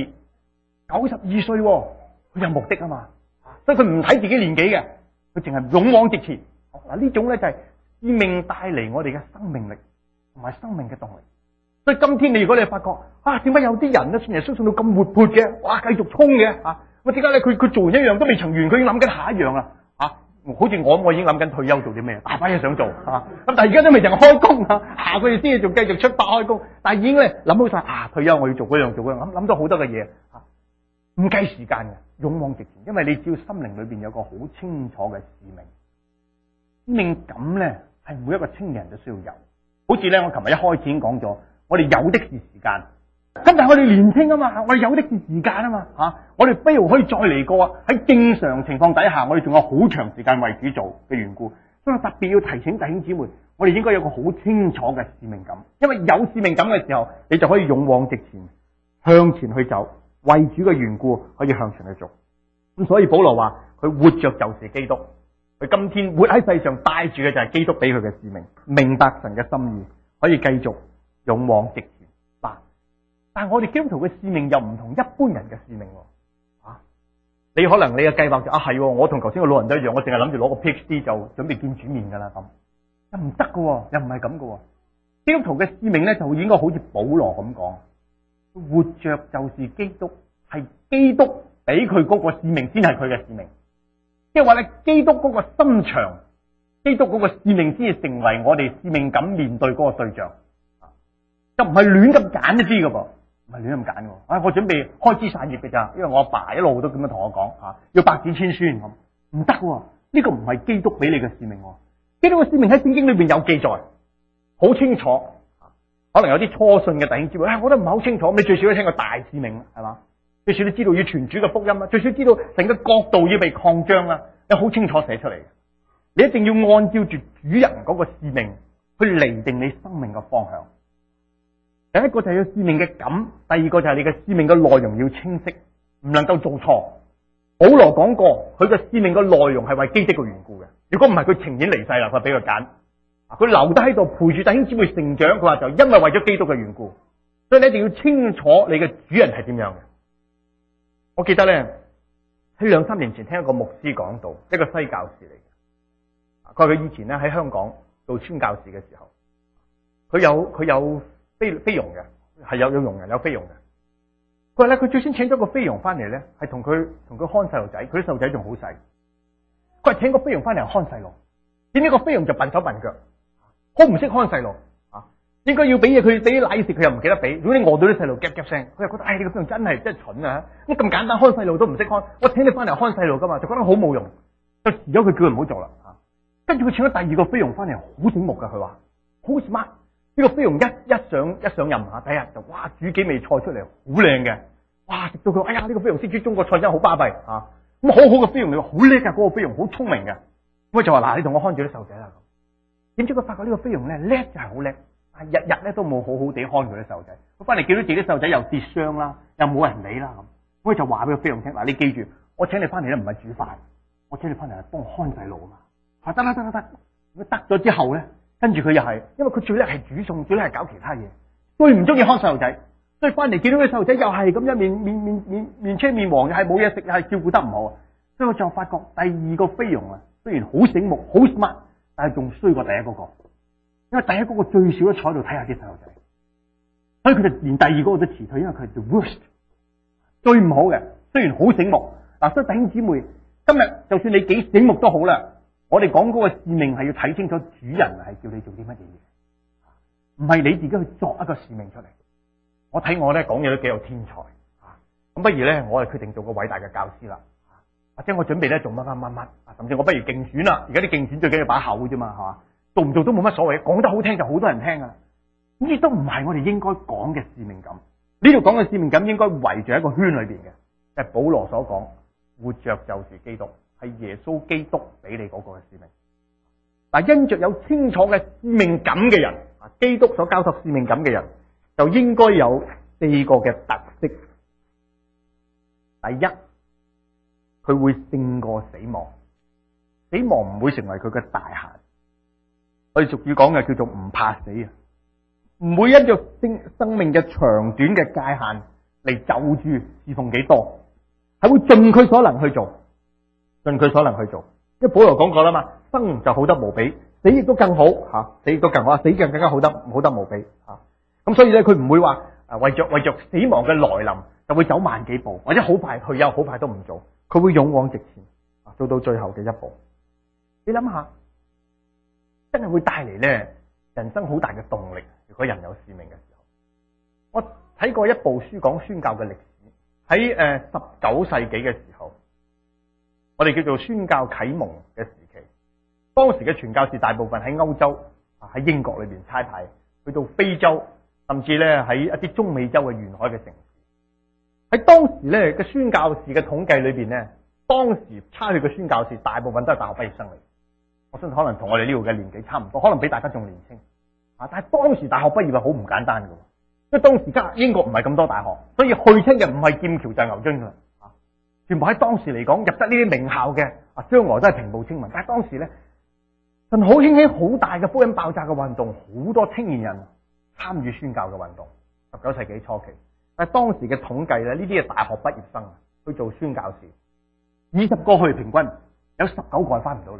PhD。92歲，佢有目的啊嘛，所以佢唔睇自己年紀嘅，佢淨係勇往直前。嗱呢種咧就係使命帶嚟我哋嘅生命力同埋生命嘅動力。所以今天如果你發覺點解有啲人咧信耶穌信到咁活潑嘅，哇繼續衝嘅咁點解咧？佢做完一樣都未曾完，佢已經諗緊下一樣啦好似我已經諗緊退休做啲咩，大把嘢想做咁但係而家都未曾開工下個月先仲繼續出發開工，但係已經咧諗好晒退休我要做嗰樣諗咗好多嘅嘢唔計時間嘅，勇往直前，因為你只要心靈裏邊有個好清楚嘅使命，使命感咧係每一個青年人都需要有。好似咧，我琴日一開始已經講咗，我哋有的是時間。咁但係我哋年輕啊嘛，我哋有的是時間啊嘛，我哋不如可以再嚟過啊！喺正常情況底下，我哋仲有好長時間為主做嘅緣故，所以我特別要提醒弟兄姊妹，我哋應該有個好清楚嘅使命感，因為有使命感嘅時候，你就可以勇往直前，向前去走，為主嘅緣故可以向前去做。咁所以保羅話佢活着就是基督，佢今天活喺世上帶住嘅就係基督俾佢嘅使命，明白神嘅心意，可以繼續勇往直前。但係我哋基督徒嘅使命又唔同一般人嘅使命喎，你可能你嘅計劃就係，我同頭先個老人都一樣，我淨係諗住攞個 PhD 就準備見主面噶啦咁，又唔得噶，又唔係咁噶。基督徒嘅使命咧就應該好似保羅咁講，活着就是基督，係基督俾佢嗰個使命先係佢嘅使命，即係話咧基督嗰個心腸，基督嗰個使命先至成為我哋使命感面對嗰個對象，就唔係亂咁揀一啲噶噃。唔係亂咁揀嘅，我準備開枝散葉嘅咋，因為我阿爸一路都咁樣同我講，要百子千孫咁，唔得喎，呢個唔係基督俾你嘅使命，基督嘅使命喺聖經裏邊有記載，好清楚。可能有啲初信嘅弟兄姊妹，我覺得唔係好清楚，你最少都聽過大使命係嘛，最少都知道要傳主嘅福音啦，最少知道成個國度要被擴張啦，有好清楚寫出嚟。你一定要按照住主人嗰個使命去釐定你生命嘅方向。第一個就係要使命嘅感，第二個就係你嘅使命嘅內容要清晰，唔能夠做錯。保羅講過，佢嘅使命嘅內容係為基督嘅緣故嘅。如果唔係，佢情願離世啦，佢俾佢揀，佢留低喺度陪住弟兄姊妹成長。佢話就因為為咗基督嘅緣故，所以你一定要清楚你嘅主人係點樣嘅。我記得咧喺2-3年前聽一個牧師講到，一個西教士嚟嘅，佢話佢以前咧喺香港做宣教士嘅時候，佢有菲傭嘅，係有傭人有菲傭嘅。佢話咧，佢最先請咗個菲傭翻嚟咧，係同佢看細路仔，佢啲細路仔仲好細。佢話請個菲傭翻嚟看細路，點知個菲傭就笨手笨腳，好唔識看細路啊！應該要俾嘢佢，俾啲奶食佢又唔記得俾。如果你餓到啲細路夾夾聲，佢又覺得你個菲傭真係蠢啊！咁簡單看細路都唔識看，我請你翻嚟看細路噶嘛，就覺得好冇用，就辭咗佢，叫佢唔好做啦。跟住佢請咗第二個菲傭翻嚟，好醒目噶，佢話好 smart。呢個菲傭一上任下，第一日就哇煮幾味菜出嚟，好靚嘅，哇食到佢，哎呀呢個菲傭識煮中國菜真係好巴閉啊！咁好好嘅菲傭，你話好叻噶，嗰個菲傭好聰明嘅，咁就話嗱，你同我看住啲細路仔啦。點知佢發覺呢個菲傭咧叻就係好叻，但係日日咧都冇好好地看佢啲細路仔。佢翻嚟見到自己細路仔又跌傷啦，又冇人理啦咁，咁佢就話俾個菲傭聽嗱，你記住，我請你翻嚟咧唔係煮飯，我請你翻嚟係幫我看細路啊嘛。得啦，咁得咗之後咧。跟住佢又係，因為佢最叻係煮餸，最叻係搞其他嘢，最唔中意看細路仔，所以翻嚟見到啲細路仔又係咁樣面青面黃，又係冇嘢食，又係照顧得唔好，所以我就發覺第二個菲傭啊，雖然好醒目好 smart，但係仲衰過第一嗰個，因為第一嗰個最少都坐喺度睇下啲細路仔，所以佢就連第二個都辭退，因為佢係 the worst 最唔好嘅。雖然好醒目嗱，所以弟兄姊妹，今日就算你幾醒目都好啦。我哋講嗰個使命係要睇清楚主人係叫你做啲乜嘢嘢，唔係你自己去作一個使命出嚟。我睇我咧講嘢都幾有天才，咁不如咧我係決定做個偉大嘅教師啦，或者我準備咧做乜，甚至我不如競選啦。而家啲競選最緊要把口啫嘛，係嘛？做唔做都冇乜所謂，講得好聽就好多人聽噶。呢啲都唔係我哋應該講嘅使命感。呢度講嘅使命感應該圍住一個圈裏邊嘅，就係保羅所講，活着就是基督。係耶穌基督俾你嗰個嘅使命，但因着有清楚嘅使命感嘅人，基督所交託使命感嘅人，就應該有4個嘅特色。第一，佢會勝過死亡，死亡唔會成為佢嘅大限。我哋俗語講嘅叫做唔怕死啊，唔會因着生命嘅長短嘅界限嚟就住侍奉幾多，係會盡佢所能去做。盡佢所能去做，因為保羅講過啦嘛，生就好得無比，死亦都更好吓，死亦都更好，死更加好得無比吓。咁所以咧，佢唔會話為着死亡嘅來臨就會走慢幾步，或者好快退休，好快都唔做，佢會勇往直前，做到最後嘅一步。你諗下，真係會帶嚟咧人生好大嘅動力。如果人有使命嘅時候，我睇過一部書講宣教嘅歷史， 喺19世紀嘅時候，我哋叫做宣教啟蒙嘅時期。當時嘅傳教士大部分喺歐洲喺英國裏邊差派，去到非洲，甚至咧喺一啲中美洲嘅沿海嘅城市。喺當時咧嘅宣教士嘅統計裏邊咧，當時差去嘅宣教士大部分都係大學畢業生嚟。我相信可能同我哋呢度嘅年紀差唔多，可能比大家仲年輕。但係當時大學畢業係好唔簡單嘅，因為當時英國唔係咁多大學，所以去親嘅唔係劍橋就係牛津噶，全部喺當時嚟講入得呢啲名校嘅，將來都係平步青雲。但係當時咧，神好興起好大嘅福音爆炸嘅運動，好多青年人參與宣教嘅運動。19世紀初期，但係當時嘅統計咧，呢啲係大學畢業生去做宣教士，20個去平均有19個係翻唔到嚟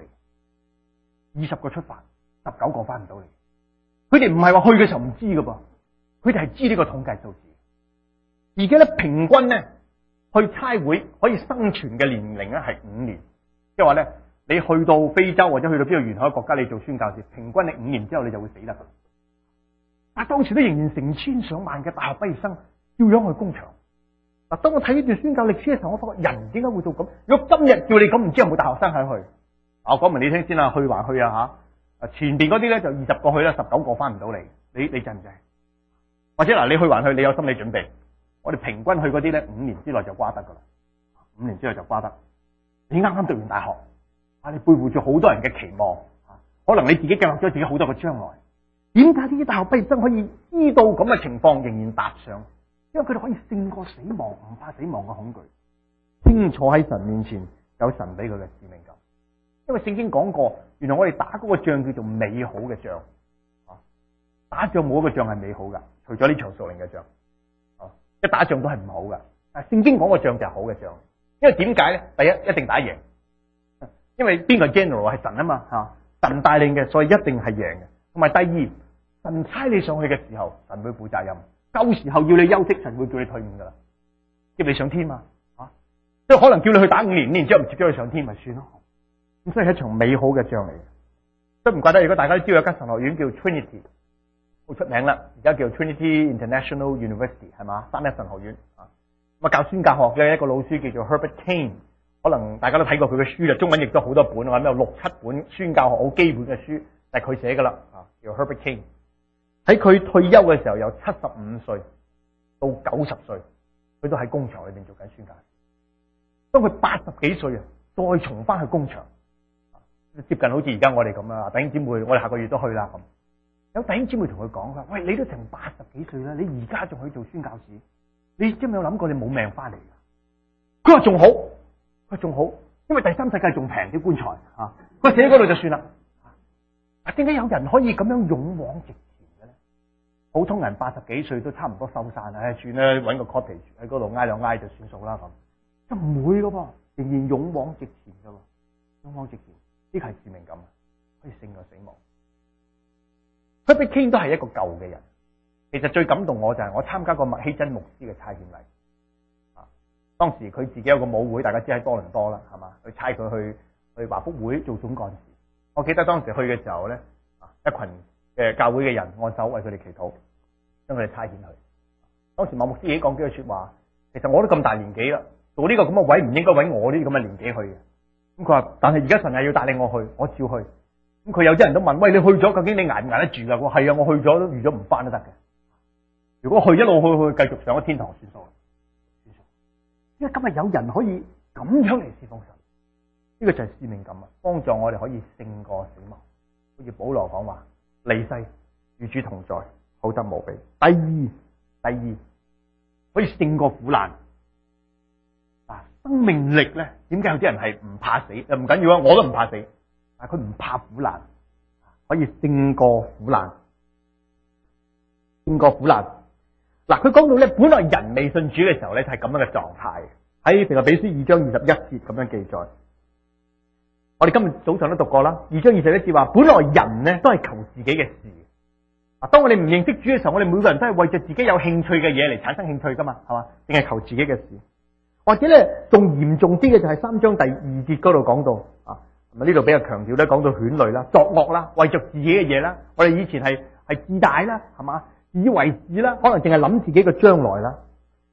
，20個出發，19個翻唔到嚟。佢哋唔係話去嘅時候唔知噶噃，佢哋係知呢個統計數字。而家咧平均咧去差會可以生存嘅年齡咧係5年，即係話咧你去到非洲或者去到邊個沿海國家，你做宣教士，平均你5年之後你就會死得噶。但係當時都仍然成千上萬嘅大學畢業生照樣去工場。嗱，當我睇呢段宣教歷史嘅時候，我發覺人點解會做咁？如果今日叫你咁，唔知有冇大學生喺去？我講明你聽先啦，去還去啊吓！前邊嗰啲咧就20個去啦，19個翻唔到嚟，你制唔制？或者嗱，你去還去，你有心理準備。我哋平均去嗰啲咧，5年之內就瓜得噶啦，5年之內就瓜得。你啱啱讀完大學，你背負住好多人嘅期望，可能你自己計劃咗自己好多個將來。點解呢啲大學畢業生可以知道咁嘅情況仍然踏上？因為佢哋可以勝過死亡，唔怕死亡嘅恐懼，清楚喺神面前有神俾佢嘅使命感。因為聖經講過，原來我哋打嗰個仗叫做美好嘅仗。打仗冇一個仗係美好噶，除咗呢場屬靈嘅仗。一打仗都係唔好噶。但係聖經講個仗就係好嘅仗。因為點解咧？第一，一定打贏。因為邊個 general 係神啊嘛，神帶領嘅，所以一定係贏嘅。同埋第二，神差你上去嘅時候，神會負責任。夠時候要你休息，神會叫你退伍噶啦，接你上天嘛，即係可能叫你去打5年，5年之後唔接咗你上天咪算咯。咁所以係一場美好嘅仗嚟嘅。都唔怪得，如果大家都知道有間神學院叫 Trinity， 好出名啦，而家叫 Trinity International University 係嘛，三一神學院啊。咁教宣教學嘅一個老師叫做 Herbert Kane， 可能大家都睇過佢嘅書啦，中文亦都好多本，我諗有6、7本宣教學好基本嘅書，就係佢寫噶啦，叫 Herbert Kane。喺佢退休嘅時候，由75歲到90歲，佢都喺工場裏邊做緊宣教。當佢80幾歲啊，再重翻去工場，接近好似而家我哋咁啊，弟兄姊妹，我哋下個月都去啦咁。有弟兄姊妹同佢講啦，喂，你都成80幾歲啦，你而家仲去做宣教士，你知唔知有諗過你冇命翻嚟噶？佢話仲好，佢仲好，因為第三世界仲平啲棺材啊，佢寫喺嗰度就算啦。點解有人可以咁樣勇往直前？普通人80幾歲都差唔多收山啦，算啦，搵個 cottage 喺嗰度挨兩挨就算數啦咁，就唔會噶噃，仍然勇往直前噶喎，勇往直前，呢個係使命感，可以勝過死亡。Herbert Kane 都係一個舊嘅人，其實最感動我就係我參加過麥希真牧師嘅差遣禮，當時佢自己有個母會，大家知喺多倫多啦，係嘛，去差佢去華福會做總幹事。我記得當時去嘅時候咧，一群嘅教會嘅人按手為佢哋祈禱，將佢哋差遣去。當時麥牧師已經講幾句說話，其實我都咁大年紀啦，做呢個咁嘅位唔應該搵我呢啲咁嘅年紀去嘅。咁佢話，但係而家神係要帶領我去，我照去。咁佢有啲人都問，喂，你去咗究竟你捱唔捱得住噶？我係啊，我去咗都預咗唔翻都得嘅。如果去一路去繼續上咗天堂算數啦。因為今日有人可以咁樣嚟侍奉神，呢個就係使命感啊，幫助我哋可以勝過死亡。好似保羅講話，離世與主同在，好得無比。第二可以勝過苦難。生命力咧，點解有啲人係唔怕死？唔緊要啊，我都唔怕死，但係佢唔怕苦難，可以勝過苦難，勝過苦難。嗱，佢講到咧，本來人未信主嘅時候咧，就係咁樣嘅狀態。喺腓立比書2章21節咁樣記載。我哋今日早上都讀過啦，2章21節話，本來人咧都係求自己嘅事。當我哋唔認識主嘅時候，我哋每個人都係為着自己有興趣嘅嘢嚟產生興趣噶嘛，係嘛？淨係求自己嘅事。或者咧，仲嚴重啲嘅就係3章第2節嗰度講到呢度比較強調咧，講到犬類啦、作惡啦、為着自己嘅嘢啦。我哋以前係自大啦，係嘛？自以為是啦，可能淨係諗自己嘅將來啦。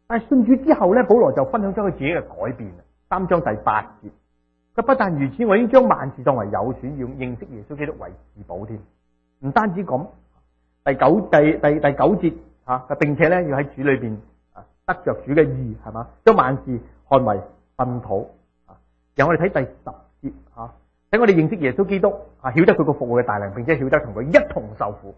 但係信主之後咧，保羅就分享咗佢自己嘅改變。3章第8節，佢不但如此，我已經將萬事當為有損，要認識耶穌基督為至寶添。唔單止咁，第九節吓，並且咧要喺主裏邊得着主嘅義，係嘛，將萬事看為糞土。由我哋睇第10節吓，等我哋認識耶穌基督啊，曉得佢個復活嘅大能，並且曉得同佢一同受苦。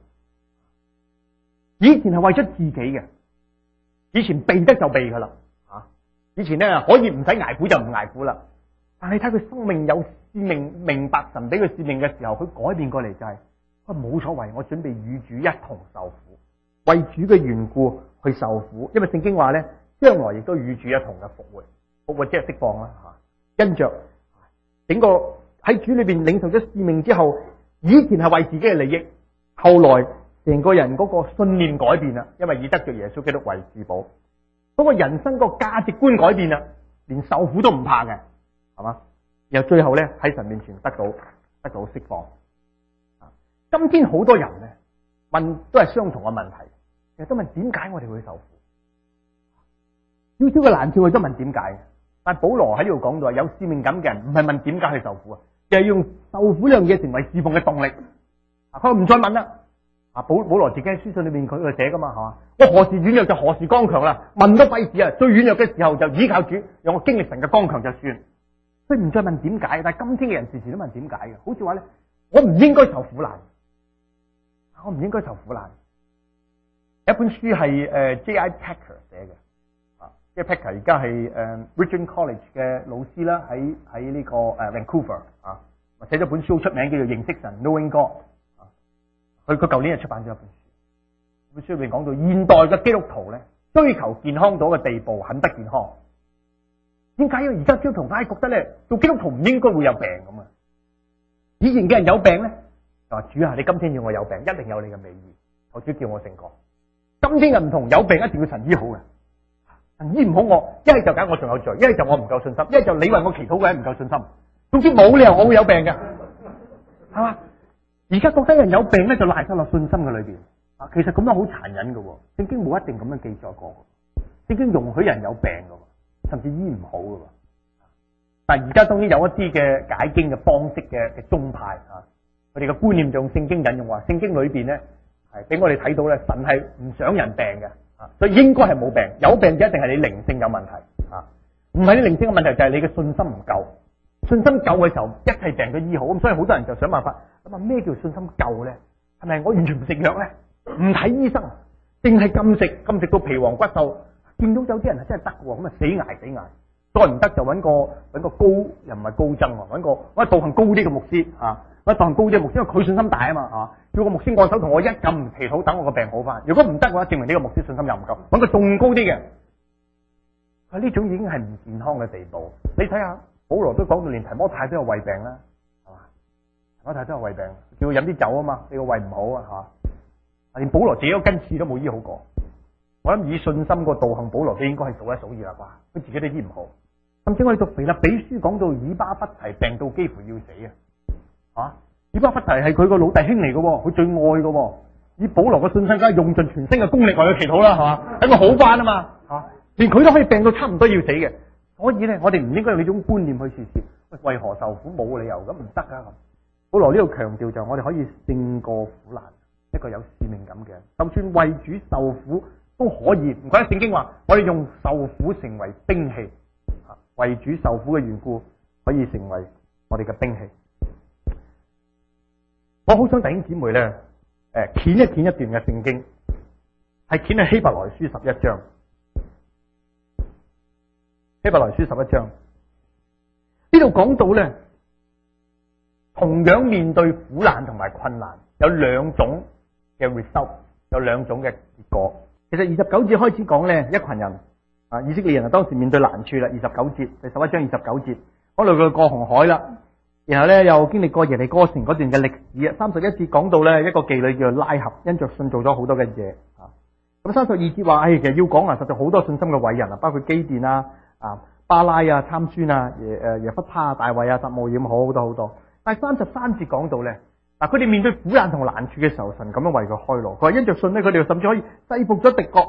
以前係為咗自己嘅，以前避得就避噶啦，以前咧可以唔使挨苦就唔挨苦啦。但係睇佢生命有使命，明白神俾佢使命嘅時候，佢改變過嚟就係，冇所謂，我準備與主一同受苦，為主嘅緣故去受苦。因為聖經話咧，將來亦都與主一同嘅復活，復活即係釋放啦吓。因着整個喺主裏邊領受咗使命之後，以前係為自己嘅利益，後來成個人嗰個信念改變啦，因為以得着耶穌基督為至寶，嗰個人生個價值觀改變啦，連受苦都唔怕嘅，係嘛？然後最後咧喺神面前得到釋放。今天好多人咧問都係相同嘅問題，其實都問點解我哋會受苦？少少嘅難處我都問點解。但保羅喺呢度講到，有使命感嘅人唔係問點解去受苦啊，就係用受苦呢樣嘢成為侍奉嘅動力。佢唔再問啦。保羅自己喺書信裏面佢寫噶嘛，係嘛？我何時軟弱就何時剛強啦，問都費事啊！最軟弱嘅時候就依靠主，讓我經歷神嘅剛強就算。所以唔再問點解，但係今天嘅人時時都問點解嘅，好似話咧，我唔應該受苦難，我唔應該受苦難。有一本書係J.I. Packer 寫嘅，J.I. Packer 而家係Regent College 嘅老師啦，喺呢個Vancouver 寫咗本書好出名，叫做認識神 Knowing God。佢舊年就出版咗一本書，本書裏面講到現代嘅基督徒咧，追求健康到嘅地步，很不健康。點解？因為而家基督徒硬係覺得咧，做基督徒唔應該會有病咁啊！以前嘅人有病咧，就話主啊，你今天要我有病，一定有你嘅美意，求主叫我勝過。今天嘅唔同，有病一定要神醫好嘅，神醫唔好我，一係就解我仲有罪，一係就我唔夠信心，一係就你為我祈禱嘅唔夠信心。總之冇理由我會有病嘅，係嘛？而家覺得人有病咧，就賴晒落信心嘅裏邊。其實咁樣好殘忍嘅，聖經冇一定咁樣記載過。聖經容許人有病嘅，甚至醫唔好嘅。但係而家當然有一啲嘅解經嘅方式嘅宗派佢哋嘅觀念就用聖經引用話，聖經裏邊咧係俾我哋睇到咧，神係唔想人病嘅，所以應該係冇病。有病就一定係你靈性有問題，唔係你靈性嘅問題就係你嘅信心唔夠。信心夠嘅時候，一切病都醫好。咁所以好多人就想辦法咁啊，咩叫信心夠咧？係咪我完全唔食藥咧？唔睇醫生，淨係禁食到皮黃骨瘦。見到有啲人係真係得嘅，咁啊死捱，再唔得就揾個高，又唔係高僧，揾個道行高啲嘅牧師揾道行高啲嘅牧師，因為佢信心大啊嘛叫個牧師按手同我一撳祈禱，等我個病好翻。如果唔得嘅話，證明呢個牧師信心又唔夠，揾個仲高啲嘅。呢種已經係唔健康嘅地步。你睇下。保羅都講到，連提摩太都有胃病啦，係嘛？提摩太都有胃病，叫佢飲啲酒啊嘛，你個胃唔好啊，係嘛？連保羅自己個根刺都冇醫好過。我諗以信心個道行，保羅都應該係數一數二啦啩，佢自己都醫唔好。甚至我哋讀腓立比書講到以巴弗提病到幾乎要死啊！以巴弗提係佢個老弟兄嚟嘅，佢最愛嘅。以保羅嘅信心，梗係用盡全身嘅功力為佢祈禱啦，係嘛？等佢好翻啊嘛，連佢都可以病到差唔多要死嘅。所以咧，我哋唔應該用呢種觀念去試試。為何受苦？冇理由咁唔得噶咁。保羅呢度強調就係我哋可以勝過苦難，一個有使命感嘅人，就算為主受苦都可以。唔怪得聖經話，我哋用受苦成為兵器，為主受苦嘅緣故，可以成為我哋嘅兵器。我好想弟兄姊妹咧，掀一段嘅聖經，係掀去希伯來書11章。希伯來書11章呢度講到咧，同樣面對苦難同埋困難，有兩種嘅 result， 有兩種嘅結果。其實29節開始講咧，一群人以色列人當時面對難處啦。29節，第11章29節，講到佢過紅海啦，然後咧又經歷過耶利哥城嗰段嘅歷史啊。31節講到咧，一個妓女叫做拉合，因着信做咗好多嘅嘢咁32節話，其實要講實在好多信心嘅偉人包括基甸巴拉參孫耶弗他大衛撒母耳，好多。但係33節講到咧，佢哋面對苦難同難處嘅時候，神咁樣為佢開路。佢話因着信咧，佢哋甚至可以制服咗敵國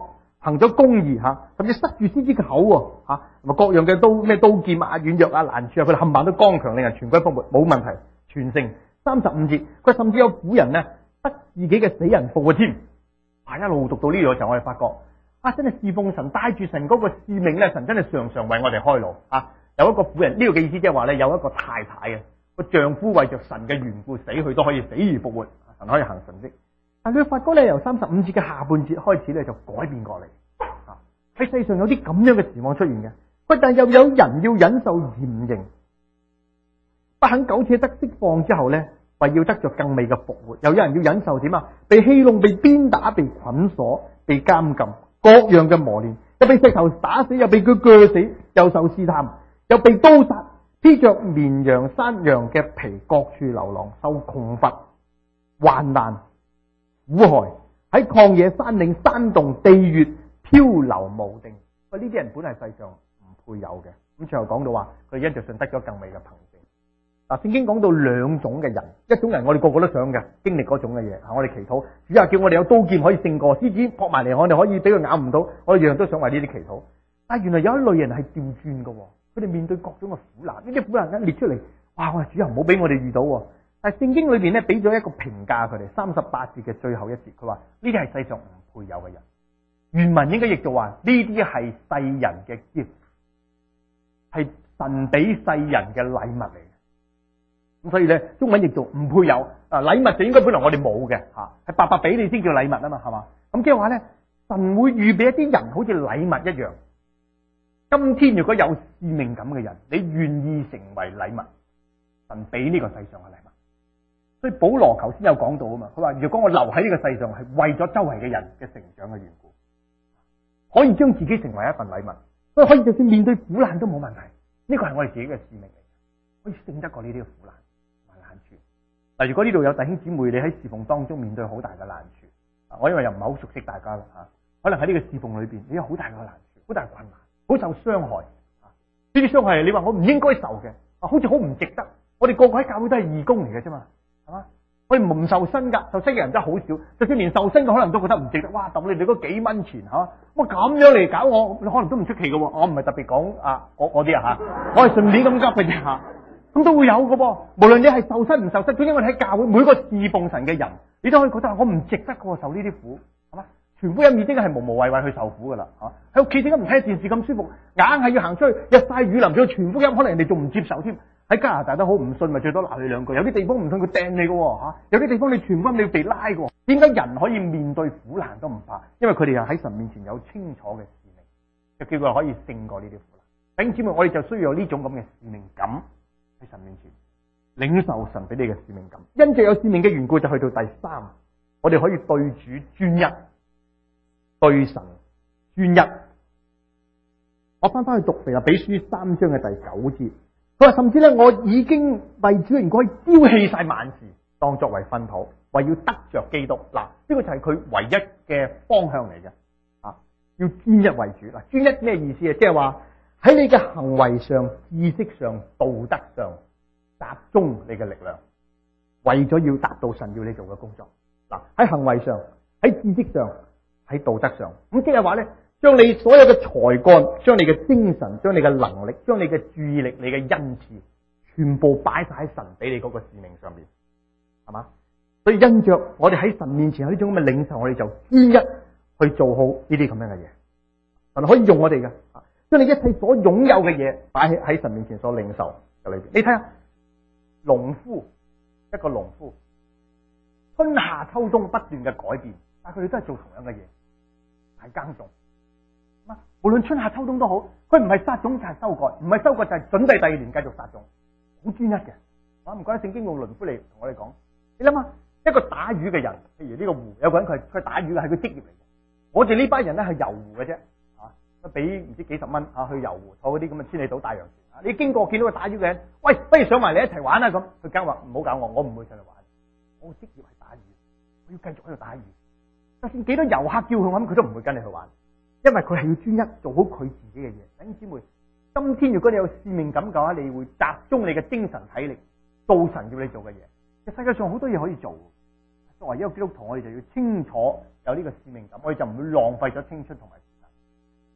行咗公義甚至塞住先知嘅口同埋各樣嘅刀劍軟弱難處佢哋冚唪唥都剛強，令人全軍覆沒，冇問題，全勝。35節，佢甚至有婦人呢得自己嘅死人復活添。一路讀到呢度嘅時候，我哋發覺真係侍奉神，帶住神嗰個使命咧，神真係常常為我哋開路有一個婦人，呢個嘅意思即係話咧，有一個太太個丈夫為着神嘅緣故死去都可以死而復活，神可以行神蹟。但佢發覺咧，由35節嘅下半節開始咧就改變過嚟喺世上有啲咁樣嘅情況出現嘅。不但又有人要忍受嚴刑，不肯苟且得釋放之後咧，為要得着更美嘅復活，又有人要忍受點被戲弄、被鞭打、被捆鎖、被監禁，各樣嘅磨練，又被石頭打死，又被佢鋸死，又受試探，又被刀殺，披着綿羊、山羊嘅皮，各處流浪，受窮乏、患難、苦害，喺曠野、山嶺、山洞、地穴漂流無定。呢啲人本係世上唔配有嘅。咁最後講到話，佢因着信得咗更美嘅憑證。聖經講到兩種嘅人，一種人我哋個個都想嘅，經歷嗰種嘅嘢，我哋祈禱，主啊叫我哋有刀劍可以勝過，獅子撲埋嚟我哋可以俾佢咬唔到，我哋樣樣都想為呢啲祈禱。但係原來有一類人係調轉嘅，佢哋面對各種嘅苦難，呢啲苦難一列出嚟，哇！我哋主啊唔好俾我哋遇到。但係聖經裏邊咧俾咗一個評價佢哋，38節嘅最後一節，佢話呢啲係世上唔配有嘅人。原文應該譯做話呢啲係世人嘅 gift， 係神俾世人嘅禮物嚟。咁所以咧，中文譯做唔配有禮物就應該本來我哋冇嘅係白白俾你先叫禮物啊嘛，係嘛？咁即係話咧，神會預備一啲人好似禮物一樣。今天如果有使命感嘅人，你願意成為禮物，神俾呢個世上嘅禮物。所以保羅頭先有講到啊嘛，佢話如果我留喺呢個世上係為咗周圍嘅人嘅成長嘅緣故，可以將自己成為一份禮物，所以可以就算面對苦難都冇問題。呢個係我哋自己嘅使命嚟，可以勝得過呢啲嘅苦難。嗱，如果呢度有弟兄姊妹，你喺侍奉當中面對好大嘅難處，我因為又唔係好熟悉大家啦可能喺呢個侍奉裏邊，你有好大嘅難處，好大嘅困難，好受傷害。呢啲傷害你話我唔應該受嘅，好似好唔值得。我哋個個喺教會都係義工嚟嘅啫嘛，係嘛？我哋唔受薪噶，受薪嘅人真係好少，就算連受薪嘅可能都覺得唔值得。哇，揼你嗰幾蚊錢咁樣嚟搞我，你可能都唔出奇嘅。我唔係特別講我啲我係順便咁急嘅啫咁都會有嘅噃，無論你係受薪唔受薪，總之我哋喺教會每個侍奉神嘅人，你都可以覺得我唔值得嘅受呢啲苦，係嘛？傳福音已經係無謂為去受苦噶啦，喺屋企點解唔睇電視咁舒服，硬係要行出去日曬雨淋，仲要傳福音，可能人哋仲唔接受添。喺加拿大都好，唔信咪最多鬧你兩句，有啲地方唔信佢掟你嘅有啲地方你傳福音你要被拉嘅。點解人可以面對苦難都唔怕？因為佢哋又喺神面前有清楚嘅使命，就叫佢可以勝過呢啲苦難。弟兄姊妹，我哋就需要有呢種咁嘅使命感。喺神面前領受神俾你嘅使命感，因着有使命嘅緣故，就去到第3，我哋可以對主專一，對神專一。我翻去讀腓立比書3章嘅第9節，佢話甚至咧，我已經為主嘅緣故可以丟棄晒萬事，當作為糞土，為要得着基督。嗱，呢個就係佢唯一嘅方向嚟嘅，要專一為主。嗱，專一咩意思啊？即係話。喺你嘅行為上、知識上、道德上集中你嘅力量，為咗要達到神要你做嘅工作。嗱，喺行為上、喺知識上、喺道德上，咁即係話咧，將你所有嘅才幹、將你嘅精神、將你嘅能力、將你嘅注意力、你嘅恩賜，全部擺晒喺神俾你嗰個使命上面，係嘛？所以因着我哋喺神面前有呢種咁嘅領受，我哋就專一去做好呢啲咁樣嘅嘢，神可以用我哋嘅。將你一切所擁有嘅嘢擺喺神面前所領受嘅裏邊，你睇下農夫，一個農夫春夏秋冬不斷嘅改變，但係佢哋都係做同樣嘅嘢，係耕種。無論春夏秋冬都好，佢唔係撒種就係收割，唔係收割就係準備第2年繼續撒種，好專一嘅。唔怪得聖經用農夫嚟同我哋講，你諗下一個打魚嘅人，譬如呢個湖有個人佢打魚嘅係佢職業嚟嘅，我哋呢班人咧係遊湖嘅啫。俾唔知幾十蚊去遊湖，坐嗰啲咁嘅千里島大洋船。你經過見到個打魚嘅人，喂，不如上埋嚟一齊玩啊！咁佢梗話唔好搞我唔會上嚟玩。我職業係打魚，我要繼續喺度打魚。就算幾多遊客叫佢玩，佢都唔會跟你去玩，因為佢係要專一做好佢自己嘅嘢。弟兄姊妹，今天如果你有使命感嘅話，你會集中你嘅精神體力做神要你做嘅嘢。世界上好多嘢可以做，作為一個基督徒，我哋就要清楚有呢個使命感，我哋就唔會浪費咗青春同埋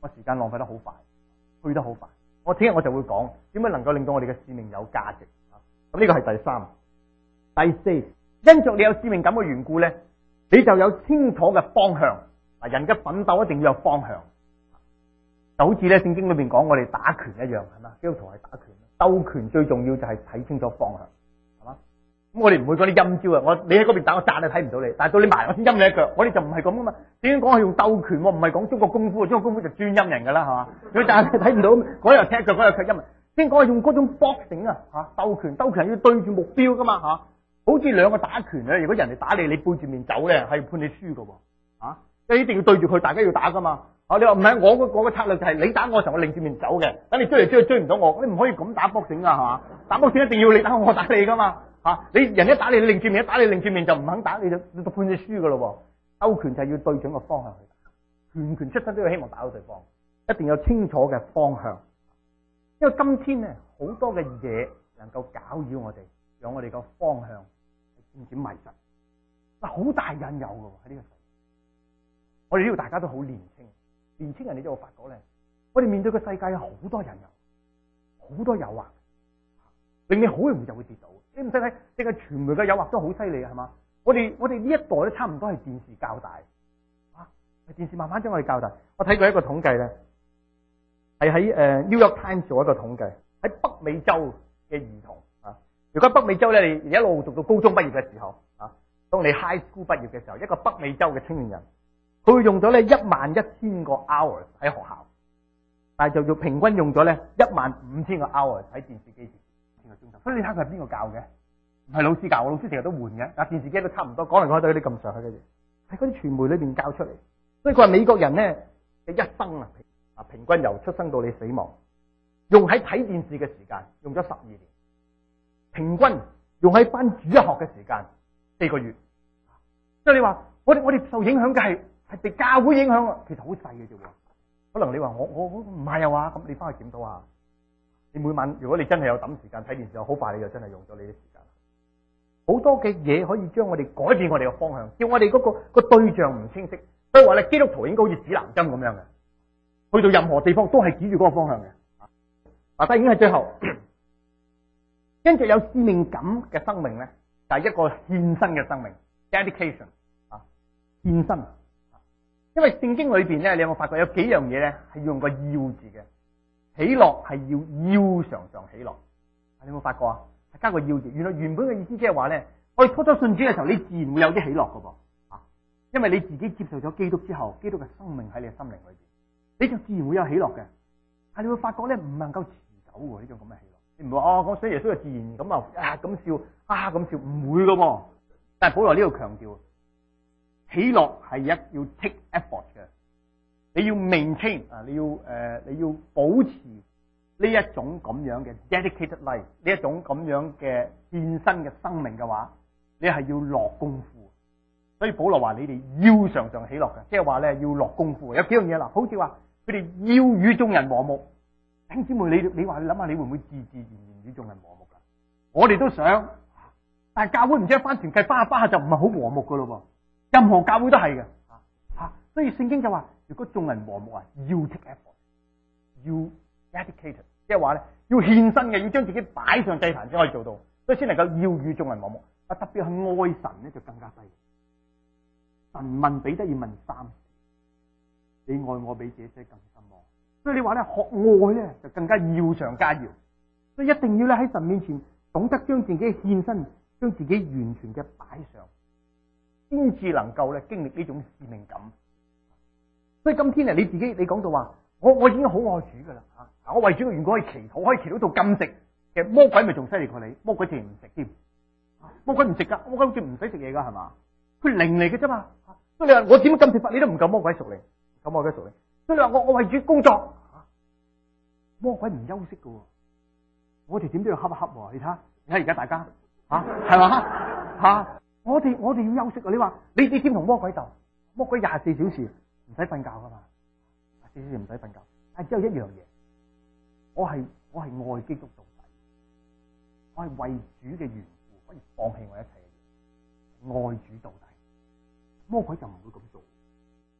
我時間浪費得好快，去得好快。我聽日我就會講點樣能夠令到我哋嘅使命有價值。咁呢個係第三。第四，因着你有使命感嘅緣故咧，你就有清楚嘅方向。嗱，人嘅奮鬥一定要有方向，就好似咧聖經裏邊講我哋打拳一樣，係嘛？基督徒係打拳，鬥拳最重要就係睇清楚方向，係嘛？咁我哋唔會講啲陰招啊！你喺嗰邊打我扎你睇唔到你，但係到你埋我先陰你一腳，我哋就唔係咁噶嘛。點解講係用鬥拳？唔係講中國功夫，中國功夫就專陰人噶啦，係嘛？佢扎你睇唔到，嗰日踢腳，嗰日卻陰。先講係用嗰種 boxing 啊，鬥拳係要對住目標噶嘛，好似兩個打拳咧，如果人哋打你，你背住面走咧，係判你輸噶，即係一定要對住佢，大家要打噶嘛。你話唔係，我個策略就係你打我嘅時候，我擰住面走嘅，等你追嚟追去追唔到我，你唔可以咁打 boxing 啊，係嘛？打 boxing一定要你打我打你噶嘛，你人一打你，你擰住面，一打你擰住面就唔肯打，你就判你輸噶咯。鬥拳就係要對準個方向去打，拳出身都要希望打到對方，一定有清楚嘅方向。因為今天咧好多嘅嘢能夠攪擾我哋，讓我哋個方向漸漸迷失。好大引誘噶喺呢個世界。我哋呢度大家都好年輕，年輕人你都有發覺咧，我哋面對個世界有好多引誘，好多誘惑，令你好容易就會跌倒。你唔使睇，淨係傳媒嘅誘惑都好犀利係嘛？我哋呢一代都差唔多係電視教大，電視慢慢將我哋教大。我睇過一個統計咧。係喺New York Times 做一個統計，喺北美洲嘅兒童如果北美洲咧，你一路讀到高中畢業嘅時候當你 high school 畢業嘅時候，一個北美洲嘅青年人，佢會用咗咧11000個 hours 喺學校，但係就平均用咗咧15000個 hours 喺電視機前1個鐘頭。所以你睇佢係邊個教嘅？唔係老師教，老師成日都換嘅，但電視機都差唔多，講嚟講去都啲咁上下嘅嘢，係嗰啲傳媒裏邊教出嚟。所以佢話美國人咧嘅一生平均由出生到你死亡，用喺睇電視嘅時間用咗12年，平均用喺返主日學嘅時間4個月。即係你話我哋受影響嘅係被教會影響，其實好細嘅啫。可能你話我唔係啊話，咁你翻去檢討下。你每晚如果你真係有抌時間睇電視，好快你就真係用咗你啲時間。好多嘅嘢可以將我哋改變我哋嘅方向，叫我哋嗰個對象唔清晰。所以話咧，基督徒應該好似指南針咁樣嘅。去到任何地方都係指住嗰個方向嘅。但係已經係最後，跟住有使命感嘅生命咧，就係一個獻身嘅生命 ，dedication 獻身。因為聖經裏邊咧，你有冇發覺有幾樣嘢咧係用個要字嘅？喜樂係要常常喜樂。你有冇發覺啊？係加個要字。原來原本嘅意思即係話咧，我哋初初信主嘅時候，你自然會有啲喜樂噶噃。因為你自己接受咗基督之後，基督嘅生命喺你嘅心靈裏邊。你就自然會有喜樂嘅，但係你會發覺咧唔能夠持久喎呢種咁嘅喜樂。你唔會話我信耶穌就自然咁咁笑咁笑，唔會噶喎。但係保羅呢度強調，喜樂係要 take effort 嘅，你要 maintain 你要保持呢一種咁樣嘅 dedicated life， 呢一種咁樣嘅獻身嘅生命嘅話，你係要落功夫。所以保羅話你哋要常常喜樂嘅，即係話咧要落功夫。有幾樣嘢啦，好似話佢哋要與眾人和睦。弟兄姊妹，你話你諗下，你會唔會自然與眾人和睦噶？我哋都想，但係教會唔知一翻團契翻下就唔係好和睦噶咯喎。任何教會都係嘅。所以聖經就話，如果眾人和睦要 take effort， 要 dedicated， 即係話咧要獻身嘅，要將自己擺上祭壇先可以做到，所以先能夠要與眾人和睦。特別係愛神咧就更加犀利。神問彼得要問3次，你愛我比這些更深麼？所以你話咧學愛咧就更加要上加要，所以一定要咧喺神面前懂得將自己獻身，將自己完全嘅擺上，先至能夠咧經歷呢種使命感。所以今天你自己你講到話，我已經好愛主噶啦吓，我為主嘅緣故可以祈禱，可以祈禱到禁食，其實魔鬼咪仲犀利過你，魔鬼自然唔食添，魔鬼唔食噶，魔鬼好似唔使食嘢噶係嘛？佢靈嚟嘅啫嘛，所以你話我點樣禁食法，你都唔夠魔鬼屬靈，咁魔鬼屬靈。所以你話我為主工作，魔鬼唔休息嘅，我哋點都要恰一恰。你睇而家大家係嘛我哋要休息啊！你話你點同魔鬼鬥？魔鬼24小時唔使瞓覺噶嘛，24小時唔使瞓覺。但係只有一樣嘢，我係愛基督到底，我係為主嘅緣故可以放棄我一切嘅嘢，愛主到底。魔鬼就唔會咁做，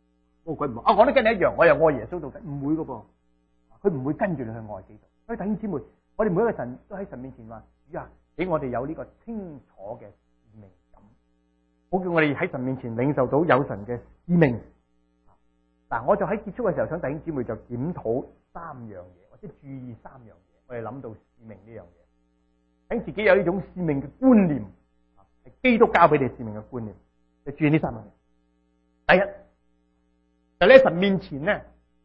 魔鬼唔我都跟你一樣，我又愛耶穌到底，唔會噶噃，佢唔會跟住你去愛基督。所以弟兄姊妹，我哋每一個神都喺神面前話：主啊，俾我哋有呢個清楚嘅使命感，好叫我哋喺神面前領受到有神嘅使命。嗱，我就喺結束嘅時候，想弟兄姊妹就檢討3樣嘢，或者注意3樣嘢。我哋諗到使命呢樣嘢，等自己有呢種使命嘅觀念，係基督教俾你使命嘅觀念，就注意呢3樣嘢。第一，就喺神面前咧，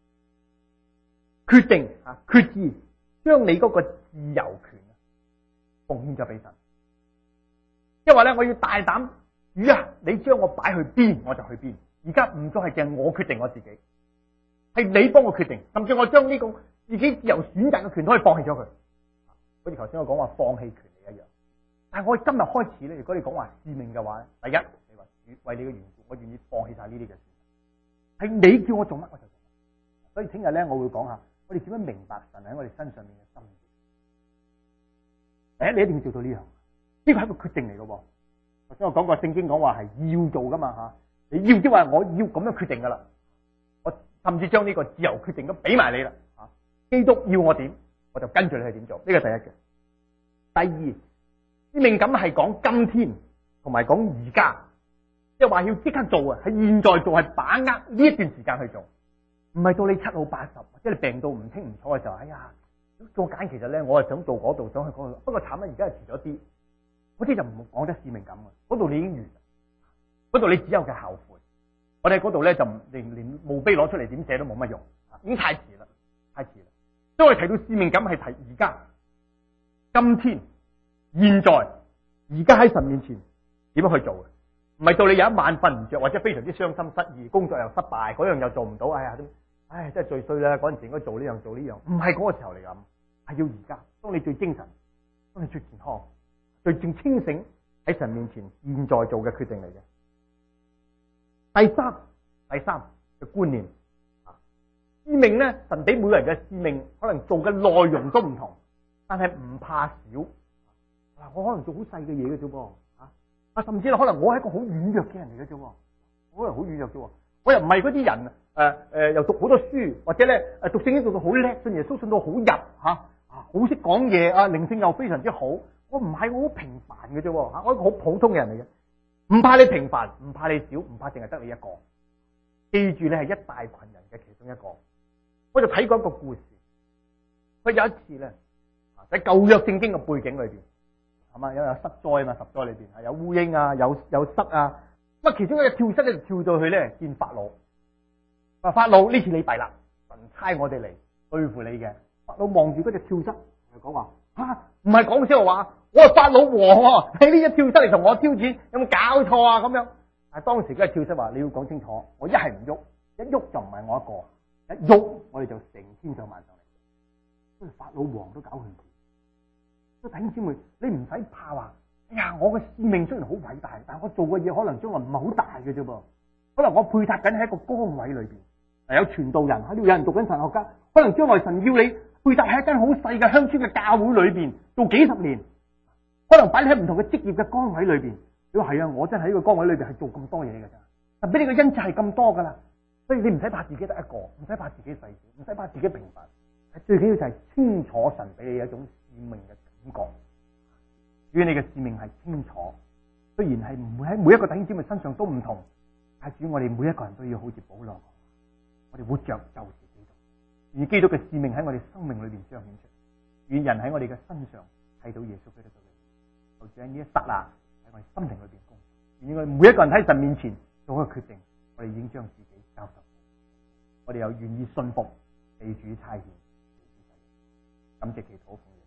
決定決志，將你嗰個自由權奉獻咗俾神。即係話咧，我要大膽，主啊，你將我擺去邊，我就去邊。而家唔再係淨係我決定我自己，係你幫我決定，甚至我將呢個自己自由選擇嘅權都可以放棄咗佢。好似頭先我講話放棄權利一樣。但係我今日開始咧，如果你講話使命嘅話，第一，你話主為你嘅緣故，我願意放棄晒呢啲嘅事。係你叫我做乜我就做乜。所以聽日咧，我會講下我哋點樣明白神喺我哋身上面嘅心意。第一，你一定要做到呢樣，呢個係一個決定嚟嘅。頭先我講過聖經講話係要做噶嘛吓。你要即係話我要咁樣決定噶啦，我甚至將呢個自由決定都俾埋你啦。基督要我點，我就跟住你去點做。呢個第一嘅。第二，使命感係講今天同埋講而家，即係話要即刻做啊，係現在做，係把握呢一段時間去做，唔係到你7老80，或者你病到唔清唔楚嘅時候，哎呀，做揀其實咧，我係想做嗰度，想去嗰度，不過慘啦，而家係遲咗啲，嗰啲就唔講得使命感啊，嗰度你已經完。嗰度你只有嘅後悔，我哋喺嗰度咧就連墓碑攞出嚟點寫都冇乜用，已經太遲啦，太遲啦。所以我哋提到使命感係提而家、今天、現在，而家喺神面前點樣去做嘅，唔係到你有一晚瞓唔着，或者非常之傷心失意，工作又失敗，嗰樣又做唔到，哎呀，真係最衰啦！嗰陣時應該做呢樣做呢樣，唔係嗰個時候嚟咁，係要而家。當你最精神，當你最健康、最正清醒喺神面前，現在做嘅決定嚟嘅。第三嘅觀念，使命咧，神俾每個人嘅使命，可能做嘅內容都唔同，但係唔怕少。嗱，我可能做好細嘅嘢嘅啫噃，甚至可能我係一個好軟弱嘅人嚟嘅啫，可能好軟弱啫。我又唔係嗰啲人，又讀好多書，或者咧讀聖經讀到好叻，信耶穌信到好入好識講嘢啊，靈性又非常之好。我唔係，我好平凡嘅啫，我係一個好普通嘅人嚟嘅。唔怕你平凡，唔怕你少，唔怕淨係得你一個。記住你係一大群人嘅其中一個。我就睇過一個故事，佢有一次咧喺舊約聖經嘅背景裏邊，係嘛，有失災嘛，十災裏邊係有烏蠅啊，有虱啊。咁其中一個跳蚤咧就跳到去咧見法老，話法老，呢次你弊啦，神差我哋嚟對付你嘅。法老望住嗰隻跳蚤就講話：唔係講笑話。我係法老王，你呢一跳蚤嚟同我挑戰，有冇搞錯啊？咁樣，但係當時嗰個跳蚤話：你要講清楚，我一係唔喐，一喐就唔係我一個，一喐我哋就成千上萬上嚟。所以法老王都搞佢。所以弟兄姊妹，你唔使怕話，哎呀，我嘅使命雖然好偉大，但係我做嘅嘢可能將來唔係好大嘅啫噃。可能我配搭緊喺一個崗位裏邊，有傳道人喺度，有人讀緊神學家，可能將來神要你配搭喺一間好細嘅鄉村嘅教會裏邊做幾十年。可能擺你喺唔同嘅職業嘅崗位裏邊，你話係啊，我真係喺呢個崗位裏邊係做咁多嘢嘅咋，但俾你嘅恩賜係咁多噶啦，所以你唔使怕自己得一個，唔使怕自己細小，唔使怕自己平凡，最緊要就係清楚神俾你一種使命嘅感覺。如果你嘅使命係清楚，雖然係唔會喺每一個弟兄姊妹身上都唔同，但係主我哋每一個人都要好似保羅，我哋活着就是基督，而基督嘅使命喺我哋生命裏邊彰顯出，願人喺我哋嘅身上睇到耶穌基督。就住喺呢一剎那喺我哋心靈裏邊工作，願我哋每一個人喺神面前做一個決定，我哋已經將自己交託，我哋又願意信服被主差遣，感謝祈禱。